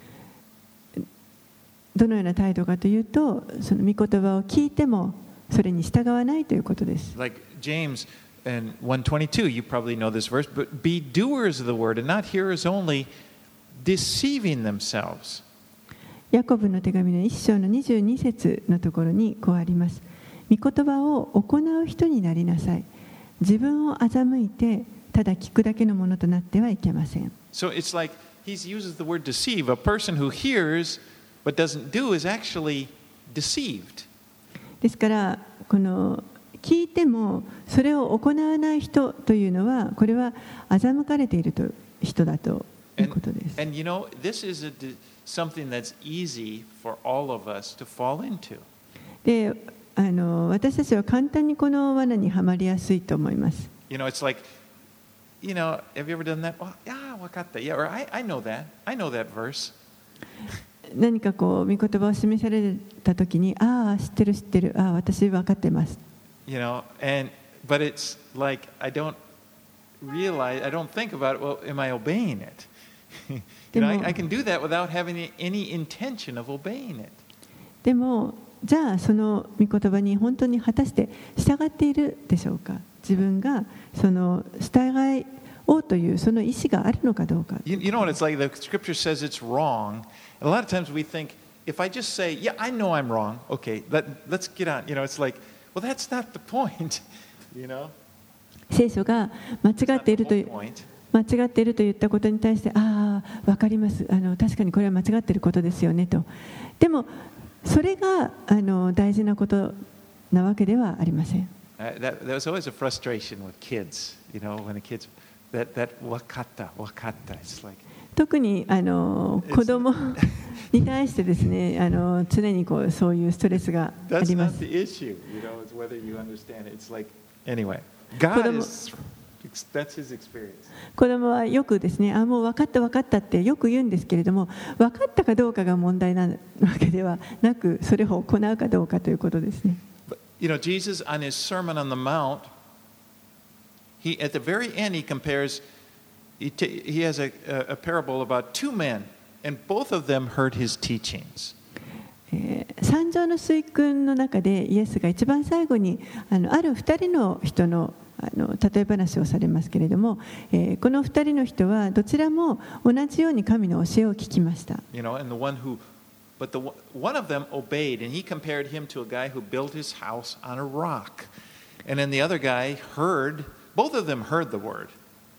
B: どのような態度かというと、その御言葉を聞いてもそれに従わないということです。
A: Like James in one twenty-two, you probably know this verse, but be doers of the word and not hearers only, deceiving themselves.
B: ヤコブの手紙の一章のにじゅうに節のところにこうあります。御言葉を行う人になりなさい。自分を欺いてただ聞くだけのものとなってはいけません。
A: So it's like he uses the word deceive. A person who hears but doesn't do is actually deceived.
B: ですからこの聞いてもそれを行わない人というのはこれは欺かれていると人だということです。
A: And, and you know, this is a, something that's easy for all of us to fall into.
B: で、あの私たちは簡単にこの罠にはまりやすいと思います。
A: You know, it's like, you know, have you ever done that? Well, yeah, わかった。Yeah, or I, I know that. I know that verse.
B: 何かこう御言葉を示されたときに、ああ知ってる知ってる、ああ私分かってます。
A: You know, and but it's like I don't realize, I don't think about it. Well, am I obeying it? You know, I, I can do that without having any intention of obeying it.
B: でもじゃあその御言葉に本当に果たして従っているでしょうか。自分がその従いをというその意思があるのかどうか。
A: You, you know what it's like? The scripture says it's wrong. And a lot of times we think, if I just say, yeah, I know I'm wrong, okay, let, let's get on. You know, it's like, well, that's not the point, you know?
B: 聖書が間違っているという間違っていると言ったことに対して、ああ、わかります。あの確かにこれは間違っていることですよねと。でもそれがあの大事なことなわけではありません。
A: Uh, that, that was always a frustration with kids, you know, when the kids, that, that wakata, wakata, it's like...
B: 特にあの子供に対してですね、あの常にこうそういうストレスがあります。
A: That's not the issue, you know, it's whether you understand it. It's like, anyway, God is, that's his experience.
B: 子供はよくですね、あ、もう分かった分かったってよく言うんですけれども、分かったかどうかが問題なわけではなく、それを行うかどうかということですね。
A: You know, Jesus on his Sermon on the Mount, he at the very end he compares, he, t- he has a, a parable about two men, and both of them heard his teachings.
B: 三条の水訓の中でイエスが一番最後にあのある二人の人のあの例え話をされますけれども、えー、この二人の人はどちらも同じように神の教えを聞きました。
A: You know, and the one who But the, one of them obeyed, and he compared him to a guy who built his house on a rock. And then the other guy heard, both of them heard the word.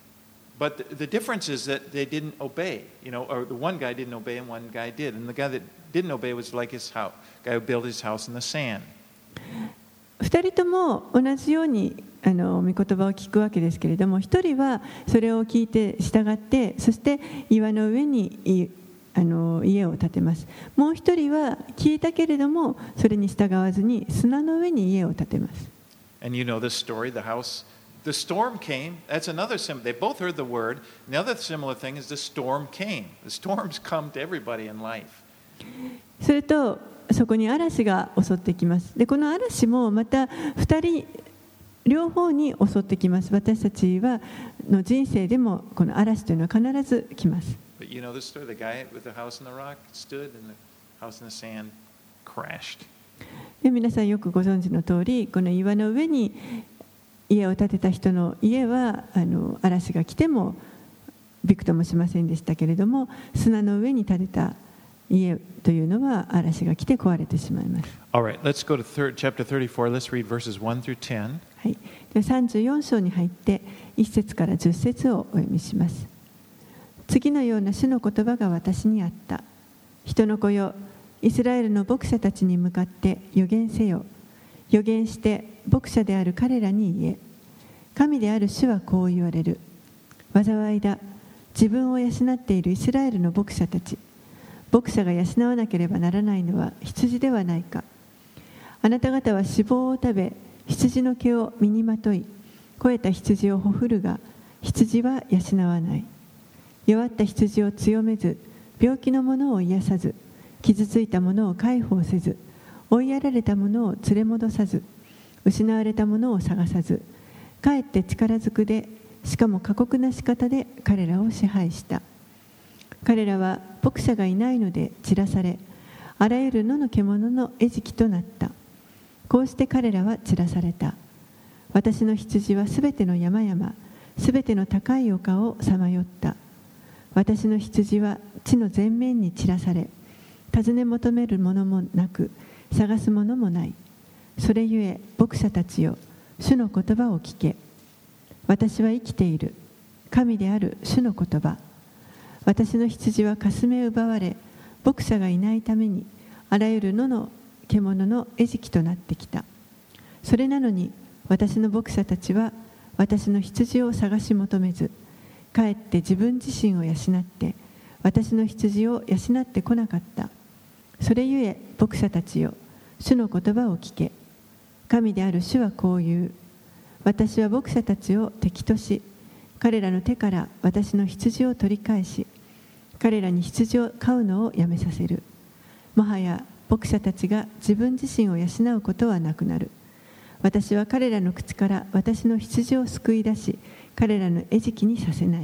A: But the, the difference is that they didn't obey, you know, or the one guy didn't obey and one guy did. And the guy that didn't obey was like his house, guy who built his house in the sand.
B: 二人とも同じようにあの御言葉を聞くわけですけれども、一人はそれを聞いて従って、そして岩の上にあの家を建てます。もう一人は聞いたけれどもそれに従わずに砂の上に家を建てます。
A: And you know this story, the house, the storm came. That's another similar. They both heard the word. And the other similar thing is the storm came. The storms come to everybody in life.
B: それとそこに嵐が襲ってきます。で、この嵐もまた二人両方に襲ってきます。私たちはの人生でもこの嵐というのは必ず来ます。
A: But you know the story, the guy with the house in the rock stood and the house in the sand crashed.
B: で、皆さんよくご存知の通り、この岩の上に家を建てた人の家はあの嵐が来てもびくともしませんでしたけれども、砂の上に建てた家というのは嵐が来て壊れてしまいます。
A: All right, let's go to third, chapter thirty-four. Let's read verses one through ten.
B: はい。で、さんじゅうよん章に入っていち節からじゅっ節をお読みします。次のような主の言葉が私にあった。人の子よ、イスラエルの牧者たちに向かって預言せよ。預言して牧者である彼らに言え。神である主はこう言われる。災いだ。自分を養っているイスラエルの牧者たち。牧者が養わなければならないのは羊ではないか。あなた方は脂肪を食べ、羊の毛を身にまとい、肥えた羊をほふるが、羊は養わない。弱った羊を強めず、病気の者を癒さず、傷ついた者を介抱せず、追いやられた者を連れ戻さず、失われた者を探さず、かえって力ずくで、しかも過酷な仕方で彼らを支配した。彼らは牧者がいないので散らされ、あらゆる野の獣の餌食となった。こうして彼らは散らされた。私の羊はすべての山々、すべての高い丘をさまよった。私の羊は地の全面に散らされ、尋ね求めるものもなく、探すものもない。それゆえ、牧者たちよ、主の言葉を聞け。私は生きている。神である主の言葉。私の羊はかすめ奪われ、牧者がいないために、あらゆる野の獣の餌食となってきた。それなのに、私の牧者たちは、私の羊を探し求めず、かえって自分自身を養って、私の羊を養ってこなかった。それゆえ、牧者たちよ、主の言葉を聞け。神である主はこう言う。私は牧者たちを敵とし、彼らの手から私の羊を取り返し、彼らに羊を飼うのをやめさせる。もはや牧者たちが自分自身を養うことはなくなる。私は彼らの口から私の羊を救い出し、彼らの餌食にさせない。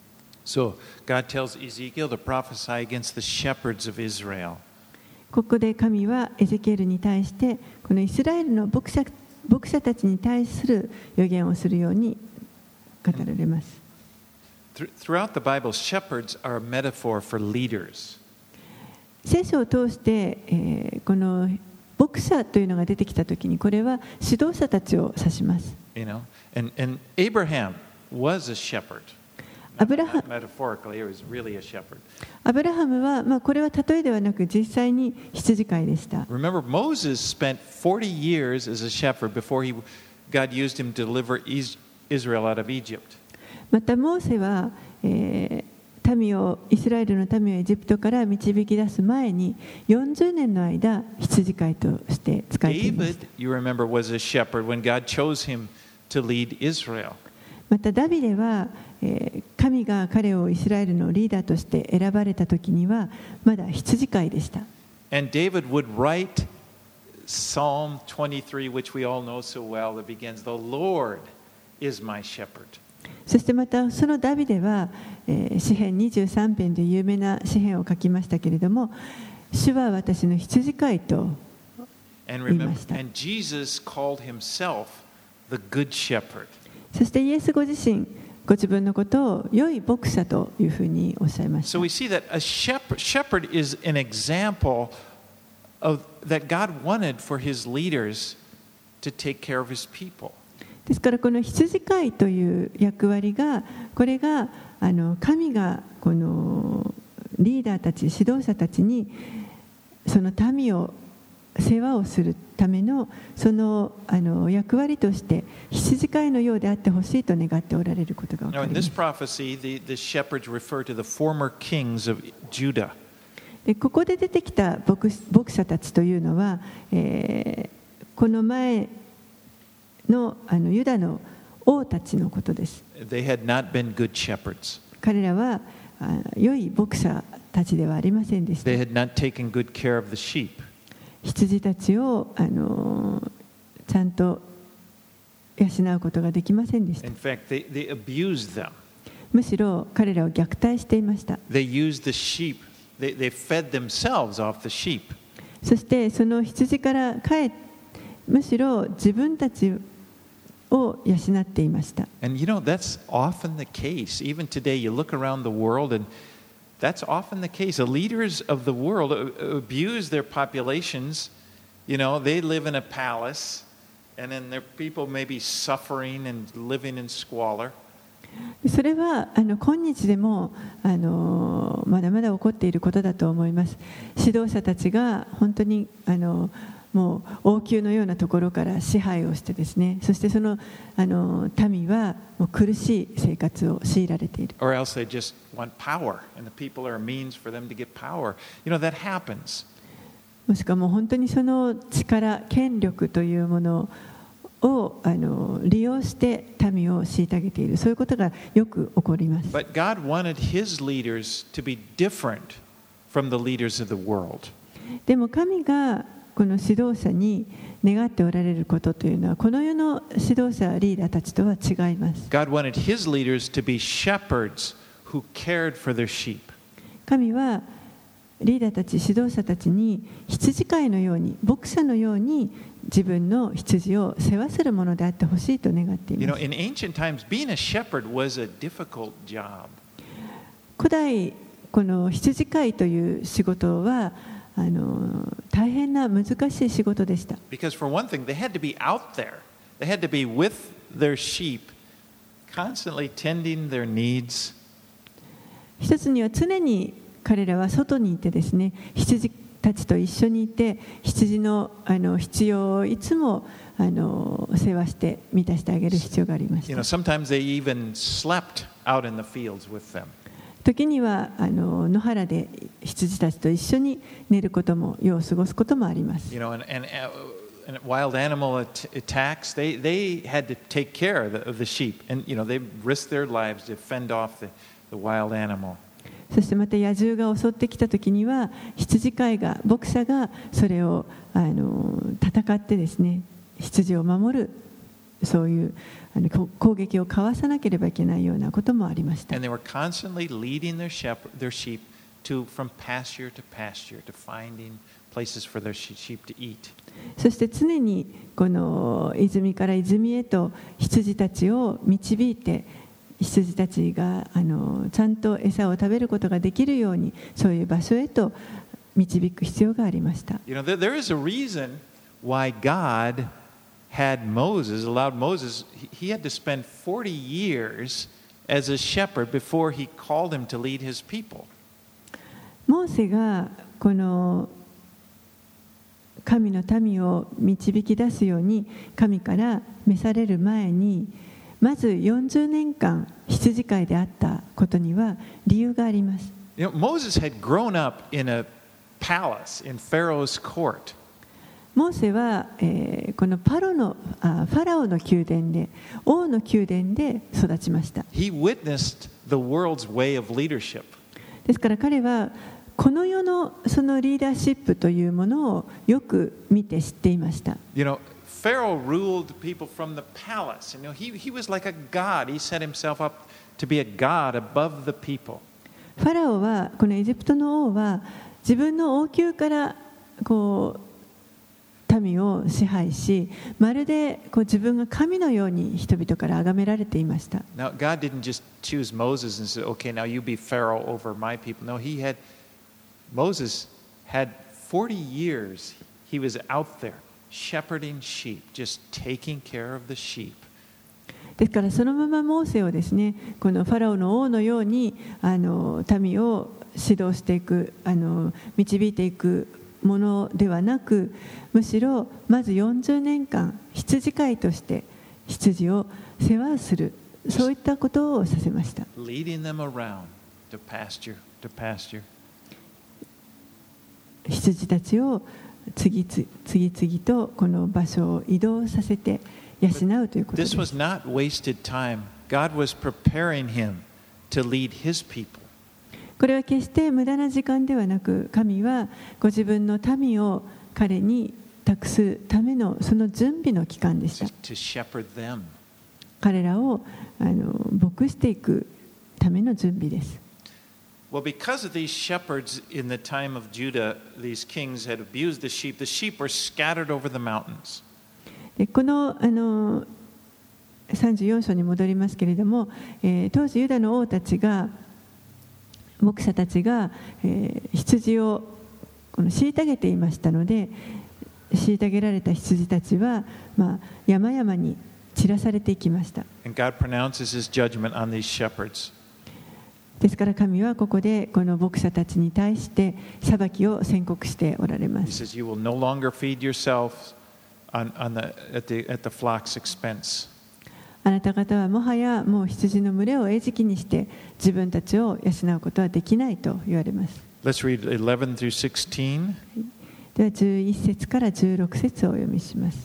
A: So, God tells Ezekiel to prophesy against the shepherds of Israel.
B: ここで神はエゼキエルに対して、このイスラエルの牧者、牧者たちに対する予言をするように語られます。
A: th- throughout the Bible, shepherds are a metaphor for leaders.
B: 聖書を通して、えーこの牧者というのが出てきたときに、これは指導者たちを指します。
A: You know, and, and Abraham was a shepherd.
B: アブラハ
A: Metaphorically, he was really a shepherd.
B: アブラハムは、まあ、これは例えではなく実際に羊飼いでした。
A: Remember, Moses spent forty years as a shepherd before he, God used him to deliver Israel out of Egypt.
B: またモーセは、えー民をイスラエルの民をエジプトから導き出す前によんじゅうねんの間羊飼いとして使えています。
A: David, you remember, was a shepherd when God chose him to lead Israel.
B: またダビデは、えー神が彼をイスラエルのリーダーとして選ばれた時にはまだ羊飼いでした。
A: And David would write Psalm twenty-three, which we all know so well, that begins, "The Lord is my shepherd."
B: そしてまたそのダビデは、えー詩編にじゅうさん編で有名な詩編を書きましたけれども、主は私の羊飼いと
A: And
B: 言いま
A: remember,
B: した。
A: and Jesus called himself the Good Shepherd.
B: そしてイエスご自身ご自分のことを良い牧者というふうにおっしゃいました。
A: So we see that a shepherd, shepherd is an example of that God wanted for his leaders to take care of his people.
B: ですからこの羊飼いという役割が、これがあの神がこのリーダーたち指導者たちにその民を世話をするためのそのあの役割として羊飼いのようであってほしいと願っておられることが分か
A: Now,
B: り
A: in
B: ま
A: this
B: す。
A: prophecy, the, the shepherds refer to the former kings of Judah.
B: でここで出てきた牧牧者たちというのは、えーこの前のあのユダの王たちのことです。
A: They had not been good shepherds.
B: 彼らはあ良い牧者たちではありませんでした。
A: They had not taken good care of the sheep.
B: 羊たちをあのちゃんと養うことができませんでした。
A: In fact, they, they abused them.
B: むしろ彼らを虐待していました。
A: They used the sheep. They, they fed themselves off the sheep.
B: そしてその羊から帰っむしろ自分たちを養っていました。
A: And you know, that's often the case. Even today, you look around the world, and that's often the case. The leaders of the world abuse their populations. You know, they live in a palace, and then their people may be suffering and living in squalor.
B: それはあの今日でもあのまだまだ起こっていることだと思います。指導者たちが本当にあのもう王宮のようなところから支配をしてですね、そしてそのあの民はもう苦しい生活を強いられている。
A: Or else they just want power, and the people are a means for them to get power. You know, that happens.
B: もしくはもう本当にその力、権力というものをあの利用して民を虐げている、そういうことがよく起こります。
A: But God wanted his leaders to be different from the leaders of the world.
B: でも神がこの指導者に願っておられることというのは、この世の指導者リーダーたちとは違います。
A: God wanted his leaders to be shepherds who cared for their sheep.
B: 神はリーダーたち、指導者たちに羊飼いのように、牧者のように自分の羊を世話するものであってほしいと願ってい
A: You
B: ま
A: know,
B: す。
A: in ancient times, being a shepherd was a difficult job.
B: 古代この羊飼いという仕事はあの大変な難しい仕事でした。
A: Because for one thing, they had to be out there. They had to be with their sheep, constantly tending their needs.
B: 一つには常に彼らは外にいてですね、羊たちと一緒にいて、羊のあの必要をいつもあの世話して満たしてあげる必要がありまし
A: You
B: た。
A: know, sometimes they even slept out in the fields with them.
B: 時にはあの野原で羊たちと一緒に寝ることも、夜を過ごすこともあります。
A: You know, and, and, uh, and wild animal at- attacks, they, they had to take care of the, of the sheep. And, you know, they risked their lives to fend off the, the wild animal.
B: そしてまた野獣が襲ってきた時には、羊飼いが、牧者がそれをあの戦ってですね、羊を守る、そういうあの攻撃をかわさなければいけないようなこともありました。
A: And they were constantly leading their, shepherd, their sheep to, from pasture to pasture, to finding places for their sheep to eat.
B: そして常にこの泉から泉へと羊たちを導いて、 羊たちがあのちゃんと餌を食べることができるようにそういう場所へと導く必要がありました。
A: You know, there, there is a reason why God had Moses, allowed Moses, he, he had to spend forty years as a shepherd before he called him to lead his people.
B: モーセがこの神の民を導き出すように神から召される前にまずよんじゅうねんかん羊飼いであったことには理由があります。
A: You know, Moses had grown up in a palace in Pharaoh's court.
B: モーセは、えー、このパロのあファラオの宮殿で王の宮殿で育ちました。
A: He witnessed the world's way of leadership.
B: ですから彼はこの世のそのリーダーシップというものをよく見て知っていました。
A: You know, Pharaoh ruled people from the palace. You know, he, he was like a god. He set himself up to be a god above the people.
B: ファラオはこのエジプトの王は自分の王宮からこう民を支配し、まるでこう自分が神のように人々から崇められていました。
A: Now, God didn't just choose Moses and say, "Okay, now you be Pharaoh over my people." No, he had Moses had forty years. He was out there shepherding sheep, just taking care of the sheep.
B: ですからそのままモーセをですね、このファラオの王のようにあの民を指導していく、あの導いていくものではなく、むしろまずよんじゅうねんかん羊飼いとして羊を世話する、そういったことをさせました。
A: Leading them around to pasture, to pasture.
B: 羊たちを次々次々とこの場所を移動させて養うということです。
A: This was not wasted time. God was preparing him to lead his people.
B: これは決して無駄な時間ではなく、神はご自分の民を彼に託すためのその準備の期間でした。
A: To shepherd them.
B: 彼らをあの牧していくための準備です。
A: Well, because of these shepherds in the time of Judah, these kings had abused the sheep. The sheep were scattered over the mountains.
B: でこのあのさんじゅうよん章に戻りますけれども、えー、当時ユダの王たちが牧者たちが、えー、羊をこの虐げていましたので、虐げられた羊たちは、まあ、山々に散らされていきました。
A: And God pronounces his judgment on these shepherds.
B: ですから神はここでこの牧者たちに対して裁きを宣告しておられま
A: He
B: す。
A: says, "You will no longer feed yourselves on, on the, at, the, at the flock's expense."
B: あなた方はもはやもう羊の群れを餌食にして自分たちを養うことはできないと言われます。
A: Let's read eleven through sixteen.
B: ではじゅういち節からじゅうろく節をお読みします。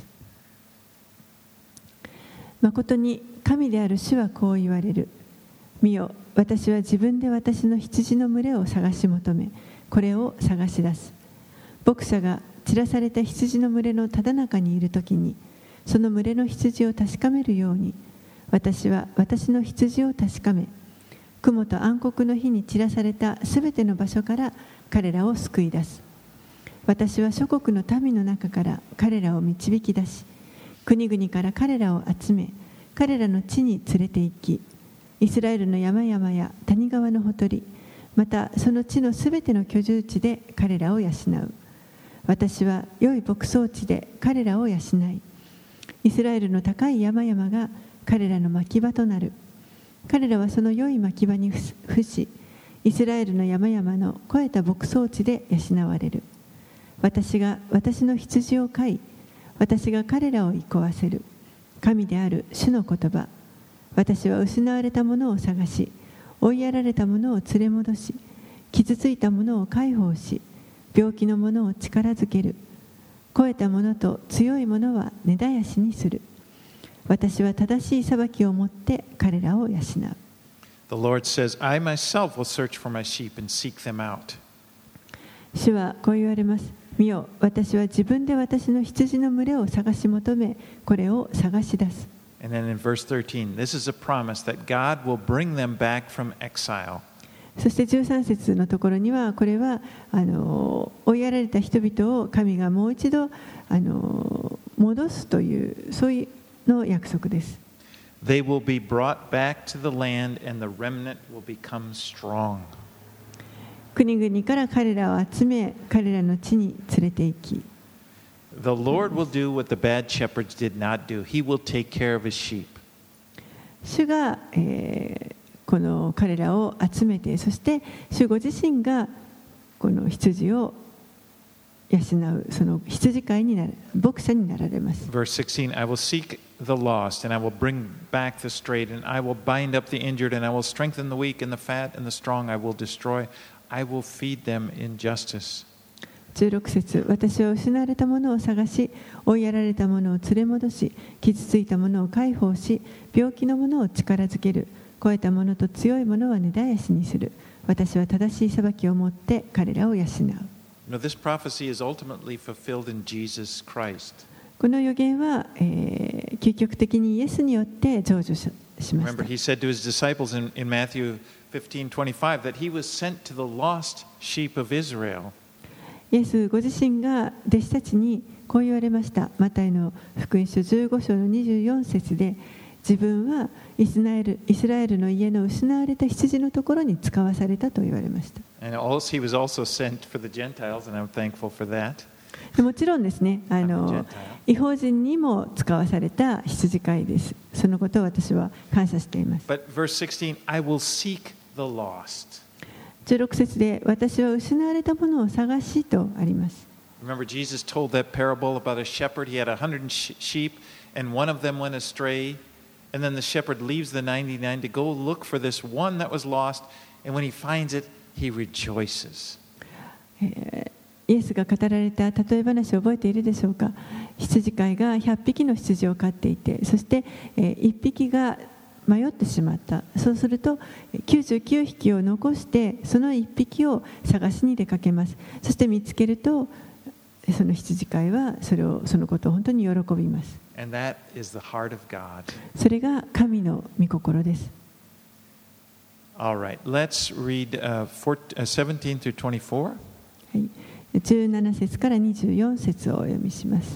B: 誠に神である主はこう言われる。見よ、私は自分で私の羊の群れを探し求め、これを探し出す。牧者が散らされた羊の群れのただ中にいるときに、その群れの羊を確かめるように、私は私の羊を確かめ、雲と暗黒の火に散らされたすべての場所から彼らを救い出す。私は諸国の民の中から彼らを導き出し、国々から彼らを集め、彼らの地に連れて行き、イスラエルの山々や谷川のほとり、またその地のすべての居住地で彼らを養う。私は良い牧草地で彼らを養い、イスラエルの高い山々が彼らの牧場となる。彼らはその良い牧場に伏し、イスラエルの山々の肥えた牧草地で養われる。私が私の羊を飼い、私が彼らを憩わせる。神である主の言葉。私は失われたものを探し、追いやられたものを連れ戻し、傷ついたものを解放し、病気のものを力づける。肥えたものと強いものは根絶やしにする。私は正しい裁きをもって彼らを養う。
A: The Lord says, "I myself will search for my sheep and seek them out."
B: 主はこう言われます。見よ、私は自分で私の羊の群れを探し求め、これを探し出す。
A: And then in verse thirteen, this is a promise that God will bring them back from exile.
B: そしてじゅうさん節のところには、これはあの追いやられた人々を神がもう一度あの戻すという、そういうの約束です。
A: They will be brought back to the land, and the remnant will become strong.
B: 国々から彼らを集め、彼らの地に連れて行き、
A: The Lord will do what the bad shepherds did not do. He will take care of his sheep.
B: 主が、えーこの彼らを集めて、そして主ご自身がこの羊を養う、その羊飼いになる、牧者になられます。
A: Verse sixteen, I will seek the lost, and I will bring back the strayed, and I will bind up the injured, and I will strengthen the weak, and the fat and the strong I will destroy. I will feed them in justice.
B: じゅうろく節、私は失われたものを探し、追いやられたものを連れ戻し、傷ついたものを解放し、病気のものを力づける。超えたものと強いものは根絶やしにする。私は正しい裁きをもって彼らを養う。
A: Now, this prophecy is ultimately fulfilled in Jesus Christ.
B: この予言は、えー、究極的にイエスによって成就しました。
A: Remember, he said to his disciples in, in Matthew fifteen twenty-five that he was sent to the lost sheep of Israel.
B: イエスご自身が弟子たちにこう言われました。マタイの福音書じゅうご章のにじゅうよん節で、自分はイスラエル、イスラエルの家の失われた羊のところに使わされたと言われました。
A: And also, he was also sent for the Gentiles, and I'm thankful for that.
B: もちろんですね、あの異邦人にも使わされた羊飼いです。そのことを私は感謝しています。
A: But verse sixteen, I will seek the lost.
B: じゅうろく節で、私は失われたものを探しとあります。
A: Remember, Jesus told that parable about a shepherd. He had a hundred sheep, and one of them went astray. And then the shepherd leaves the ninety-nine to go look for this one that was lost. And when he finds it, he rejoices.
B: イエスが語られた例え話を覚えているでしょうか。羊飼いがひゃっぴきの羊を飼っていて、そしていっぴきが迷ってしまった。そうするときゅうじゅうきゅうひきを残して、そのいっぴきを探しに出かけます。そして見つけると、その羊飼いはそれを、そのことを本当に喜びます。
A: And that is the heart of God.
B: それが神の御心です。
A: All right, let's read uh, four, uh, seventeen through twenty-four.
B: はい、じゅうなな節からにじゅうよん節をお読みします。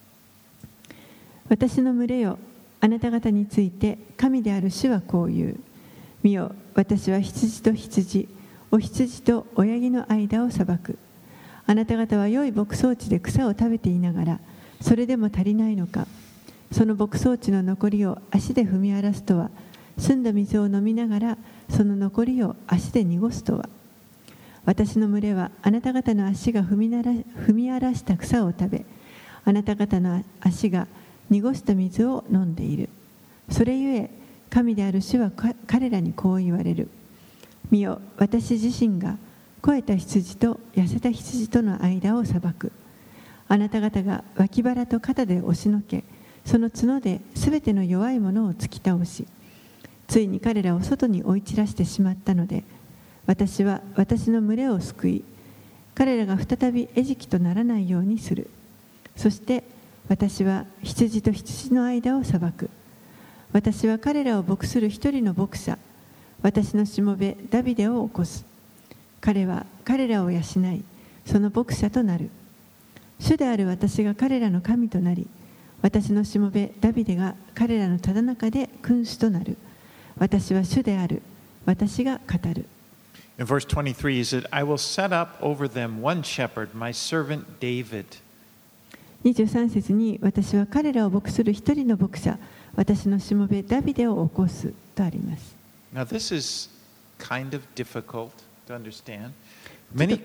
B: 私の群れよ、あなた方について神である主はこう言う。見よ、私は羊と羊、お羊と親木の間を裁く。あなた方は良い牧草地で草を食べていながら、それでも足りないのか。その牧草地の残りを足で踏み荒らすとは、澄んだ水を飲みながらその残りを足で濁すとは。私の群れはあなた方の足が踏みなら踏み荒らした草を食べ、あなた方の足が濁した水を飲んでいる。それゆえ神である主は彼らにこう言われる。見よ、私自身が肥えた羊と痩せた羊との間を裁く。あなた方が脇腹と肩で押しのけ、その角ですべての弱いものを突き倒し、ついに彼らを外に追い散らしてしまったので、私は私の群れを救い、彼らが再び餌食とならないようにする。そして私は羊と羊の間を裁く。私は彼らを牧する一人の牧者、私のしもべダビデを起こす。彼は彼らを養い、その牧者となる。主である私が彼らの神となり、私のしもべダビデが彼らのただ中で君主となる。私は主である。私が語る。
A: In verse twenty-three, he said, I will set up over them one shepherd, my servant David.
B: にじゅうさん節に、私は彼らを牧する一人の牧者、私のしもべダビデを起こすとあります。
A: Now, this is kind of difficult to understand. Many,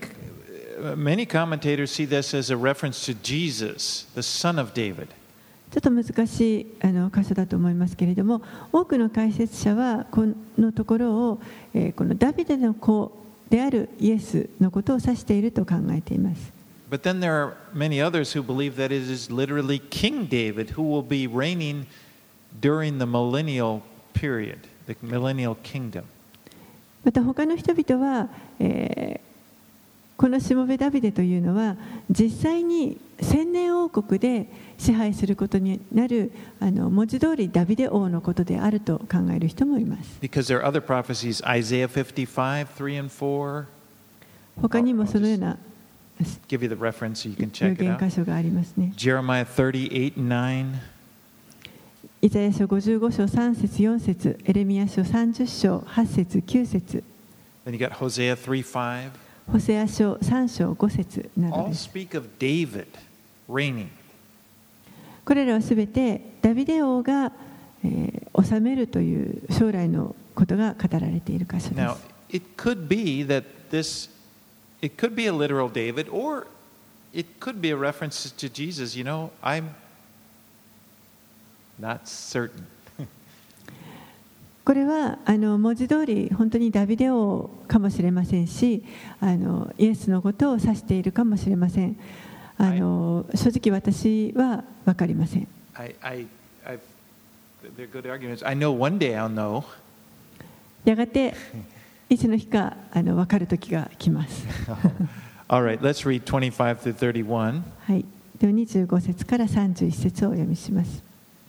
A: many commentators see this as a reference to Jesus, the son of David.
B: ちょっと難しいあの箇所だと思いますけれども、多くの解説者はこのところを、えー、このダビデの子であるイエスのことを指していると考えています。
A: But then there are many others who believe that it is literally King David who will be reigning during the millennial period, the millennial kingdom.
B: また他の人々は、えーこのしもべダビデというのは実際に千年王国で支配することになるあの文字通りダビデ王のことであると考える人もいます。
A: Because there are other prophecies, Isaiah fifty-five, three and four.
B: 他にもそのような
A: Give you the reference so you can
B: 予
A: check it
B: 言
A: out.
B: 箇所がありますね。
A: Jeremiah thirty-eight and nine.
B: イザヤ書ごじゅうご章さん節よん節、エレミヤ書さんじゅう章はち節きゅう節、
A: Then you got Hosea three five.
B: ホセア書さん章ご節など
A: All
B: です。
A: speak of David reigning.
B: これらはすべてダビデ王が、えー、治めるという将来のことが語られている箇所で
A: Now,
B: す。
A: it could be that this, it could be a literal David, or it could be a reference to Jesus. You know, I'm not certain.
B: これはあの文字通り本当にダビデ王かもしれませんし、あのイエスのことを指しているかもしれません。あの正直私は分かりません。
A: I, I, I've, they're good arguments. I know one day I'll know.
B: やがていつの日かあの分かる時が来ます。
A: All right, let's read twenty-five through thirty-one.
B: はい、ではにじゅうご節からさんじゅういち節をお読みします。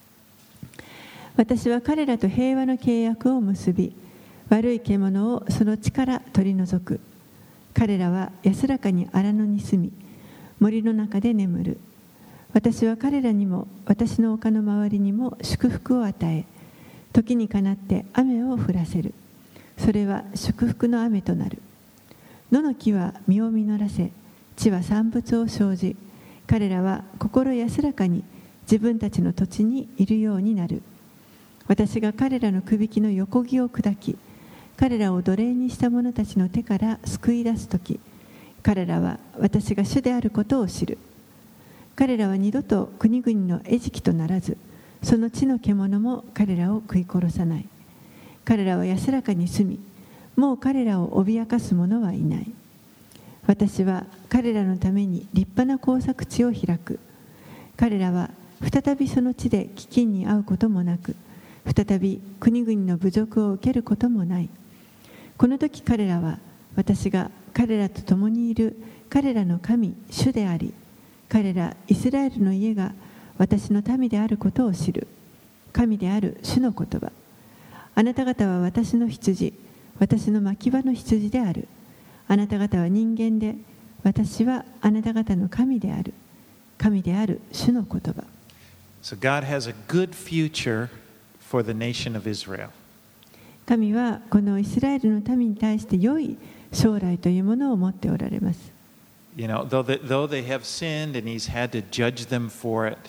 B: 私は彼らと平和の契約を結び、悪い獣をその地から取り除く。彼らは安らかに荒野に住み、森の中で眠る。私は彼らにも私の丘の周りにも祝福を与え、時にかなって雨を降らせる。それは祝福の雨となる。野の木は実を実らせ、地は産物を生じ、彼らは心安らかに自分たちの土地にいるようになる。私が彼らのくびきの横木を砕き、彼らを奴隷にした者たちの手から救い出すとき、彼らは私が主であることを知る。彼らは二度と国々の餌食とならず、その地の獣も彼らを食い殺さない。彼らは安らかに住み、もう彼らを脅かす者はいない。私は彼らのために立派な耕作地を開く。彼らは再びその地で飢饉に遭うこともなく、再び国々の侮辱を受けることもない。この時彼らは私が彼らと共にいる彼らの神主であり、彼らイスラエルの家が私の民であることを知る。神である主の言葉。あなた方は私の羊、私の牧場の羊である。あなた方は人間で、私はあなた方の神である。神である主の言葉。
A: So God has a good future for the nation of Israel.
B: 神はこのイスラエルの民に対して良い将来というものを持っておられます。
A: You know, though they, though they have sinned and He's had to judge them for it,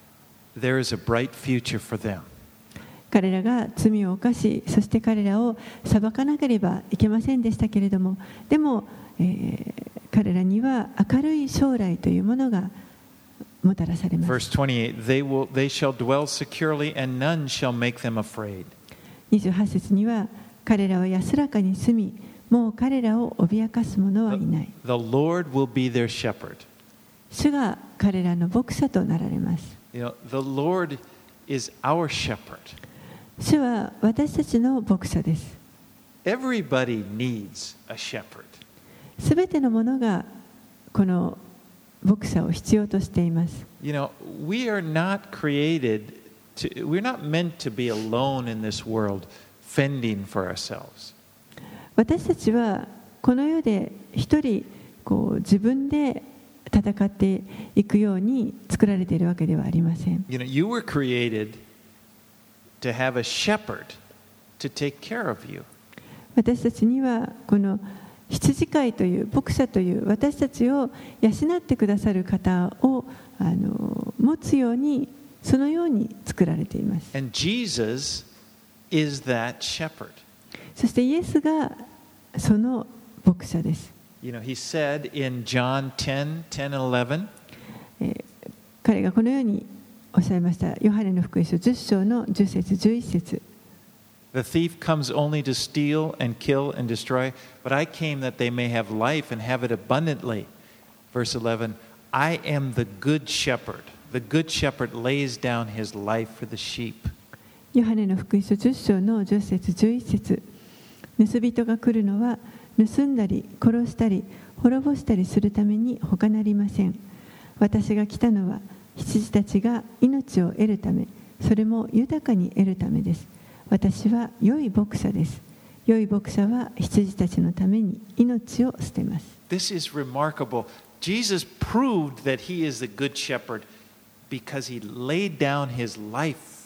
A: there is a bright future for them.
B: 彼らが罪を犯し、そして彼らを裁かなければいけませんでしたけれども、でも、えー、彼らには明るい将来というものがもたらされます。
A: Verse twenty-eight, they will, they shall dwell securely and none shall make them afraid.
B: にじゅうはち節には、彼らは安らかに住み、もう彼らを脅かす者はいない。
A: The Lord will be their shepherd.
B: 主が彼らの牧者となられます。
A: You know, the Lord is our shepherd.
B: 主は私たちの牧者です。
A: Everybody needs a shepherd.
B: すべてのものがこの牧者を必要としています。
A: You know, we are not created to, we're not meant to be alone in this world, fending for ourselves.
B: 私たちはこの世で一人こう自分で戦っていくように作られているわけではありません。
A: You know, you were created to have a shepherd to take care of you.
B: 私たちにはこの羊飼いという牧者という私たちを養ってくださる方をあの持つようにそのように作られています。
A: And Jesus is that shepherd.
B: そしてイエスがその牧者です。
A: You know, he said in John ten, ten and eleven,
B: えー彼がこのようにおっしゃいました。ヨハネの福音書じゅっ章のじゅっ節じゅういち節。
A: The thief comes only to steal and kill and destroy, but I came that they may have life and have it abundantly. Verse eleven, I am the good shepherd. The good shepherd lays down his life for the sheep.
B: ヨハネの福音書じゅっ章のじゅっ節じゅういち節。盗人が来るのは盗んだり殺したり滅ぼしたりするために他なりません。私が来たのは羊たちが命を得るため、それも豊かに得るためです。私は良い牧者です。良い牧者は羊たちのために命を捨てます。
A: This is remarkable. Jesus proved that he is the good shepherd because he laid down his life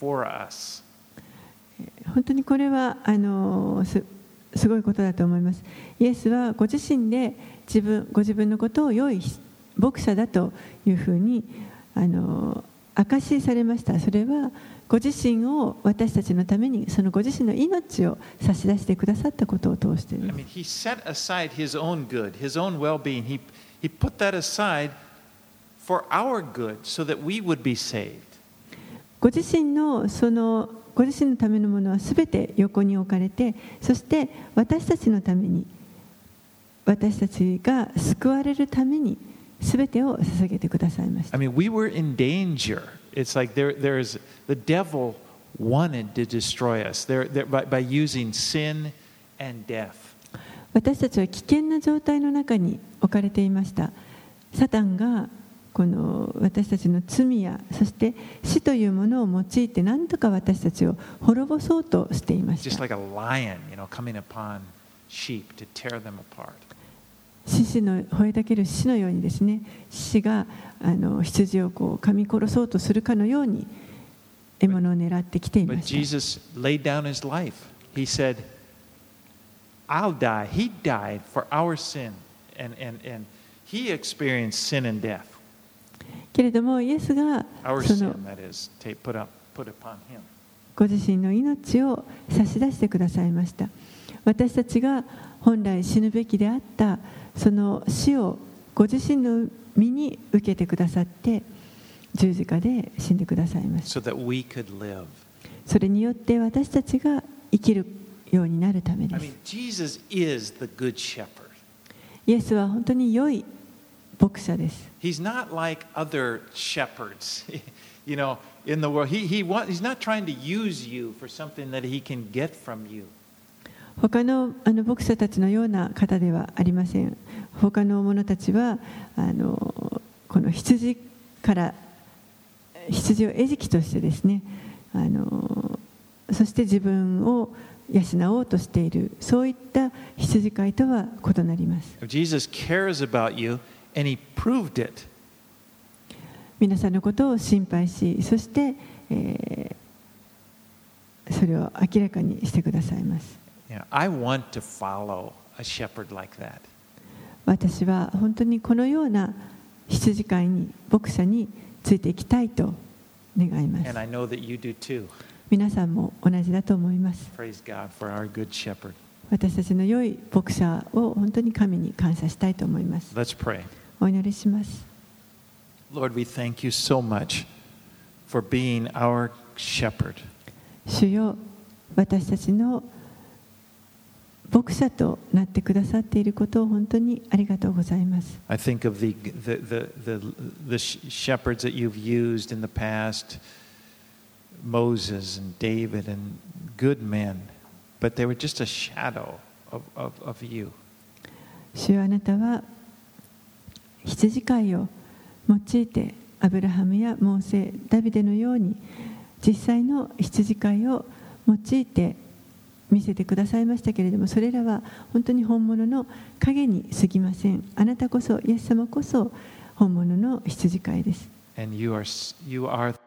A: for us.
B: 本当にこれはあの す, すごいことだと思います。イエスはご自身で自分ご自分のことを良い牧者だというふうにあの証しされました。それはご自身を私たちのためにそのご自身の命を差し出してくださったことを通してです。
A: I mean, he set aside his own good, his own well-being. He, he put that aside for our good so that we would be saved.
B: ご自身のそのご自身のためのものはすべて横に置かれて、そして私たちのために私たちが救われるためにすべてを捧げてくださいました。
A: I mean, we were in danger. It's like there, there's the devil wanted to destroy us there, there, by, by using sin and death.
B: 私たちは危険な状態の中に置かれていました。サタンがこの私たちの罪やそして死というものを用いて何とか私たちを滅ぼそうとしていました。
A: Just like a lion, you know, coming upon sheep to tear them apart.
B: 獅子の吠えたける獅子のようにですね、獅子があの羊をこう噛み殺そうとするかのように獲物を狙ってきていま
A: But
B: した。
A: Jesus laid down his life. He said, I'll die. He died for our sin. And, and, and he experienced sin and death.
B: けれどもイエスが
A: Our
B: その
A: sin, that is, take, put, up, put upon him.
B: ご自身の命を差し出してくださいました。私たちが本来死ぬべきであったその死をご自身の身に受けてくださって十字架で死んでくださいました。
A: So that we could live.
B: それによって私たちが生きるようになるためで
A: I
B: す。
A: mean, Jesus is the good shepherd.
B: イエスは本当に良い牧者です。
A: He's not like other shepherds, you know, in the world. He, he want, he's not trying to use you for something that he can get from you.
B: 他のあの牧者たちのような方ではありません。他の者たちはあのこの羊から羊を餌食としてですね、あのそして自分を養おうとしているそういった羊飼いとは異なります。
A: Jesus cares about you, and he proved it.
B: 皆さんのことを心配し、そして、えー、それを明らかにしてくださいます。
A: You know, I want to follow a shepherd like that.
B: 私は本当にこのような羊飼いに牧者についていきたいと願います。
A: And I know that you do too.
B: 皆さんも同じだと思います。
A: Praise God for our good shepherd.
B: 私たちの良い牧者を本当に神に感謝したいと思います。
A: Let's pray.
B: お祈りします。
A: Lord, we thank you so much for being our shepherd.
B: 主よ、私たちの牧者となってくださっていることを本当にありがとうございます。
A: I think of the, the, the, the, the shepherds that you've used in the past, Moses and David and good men, but they were just a shadow of, of, of you.
B: 主よ、あなたは羊飼いを用いてアブラハムやモーセ、ダビデのように実際の羊飼いを用いて見せてくださいましたけれども、それらは本当に本物の影に過ぎません。あなたこそ、イエス様こそ本物の羊飼いです。
A: And you are, you are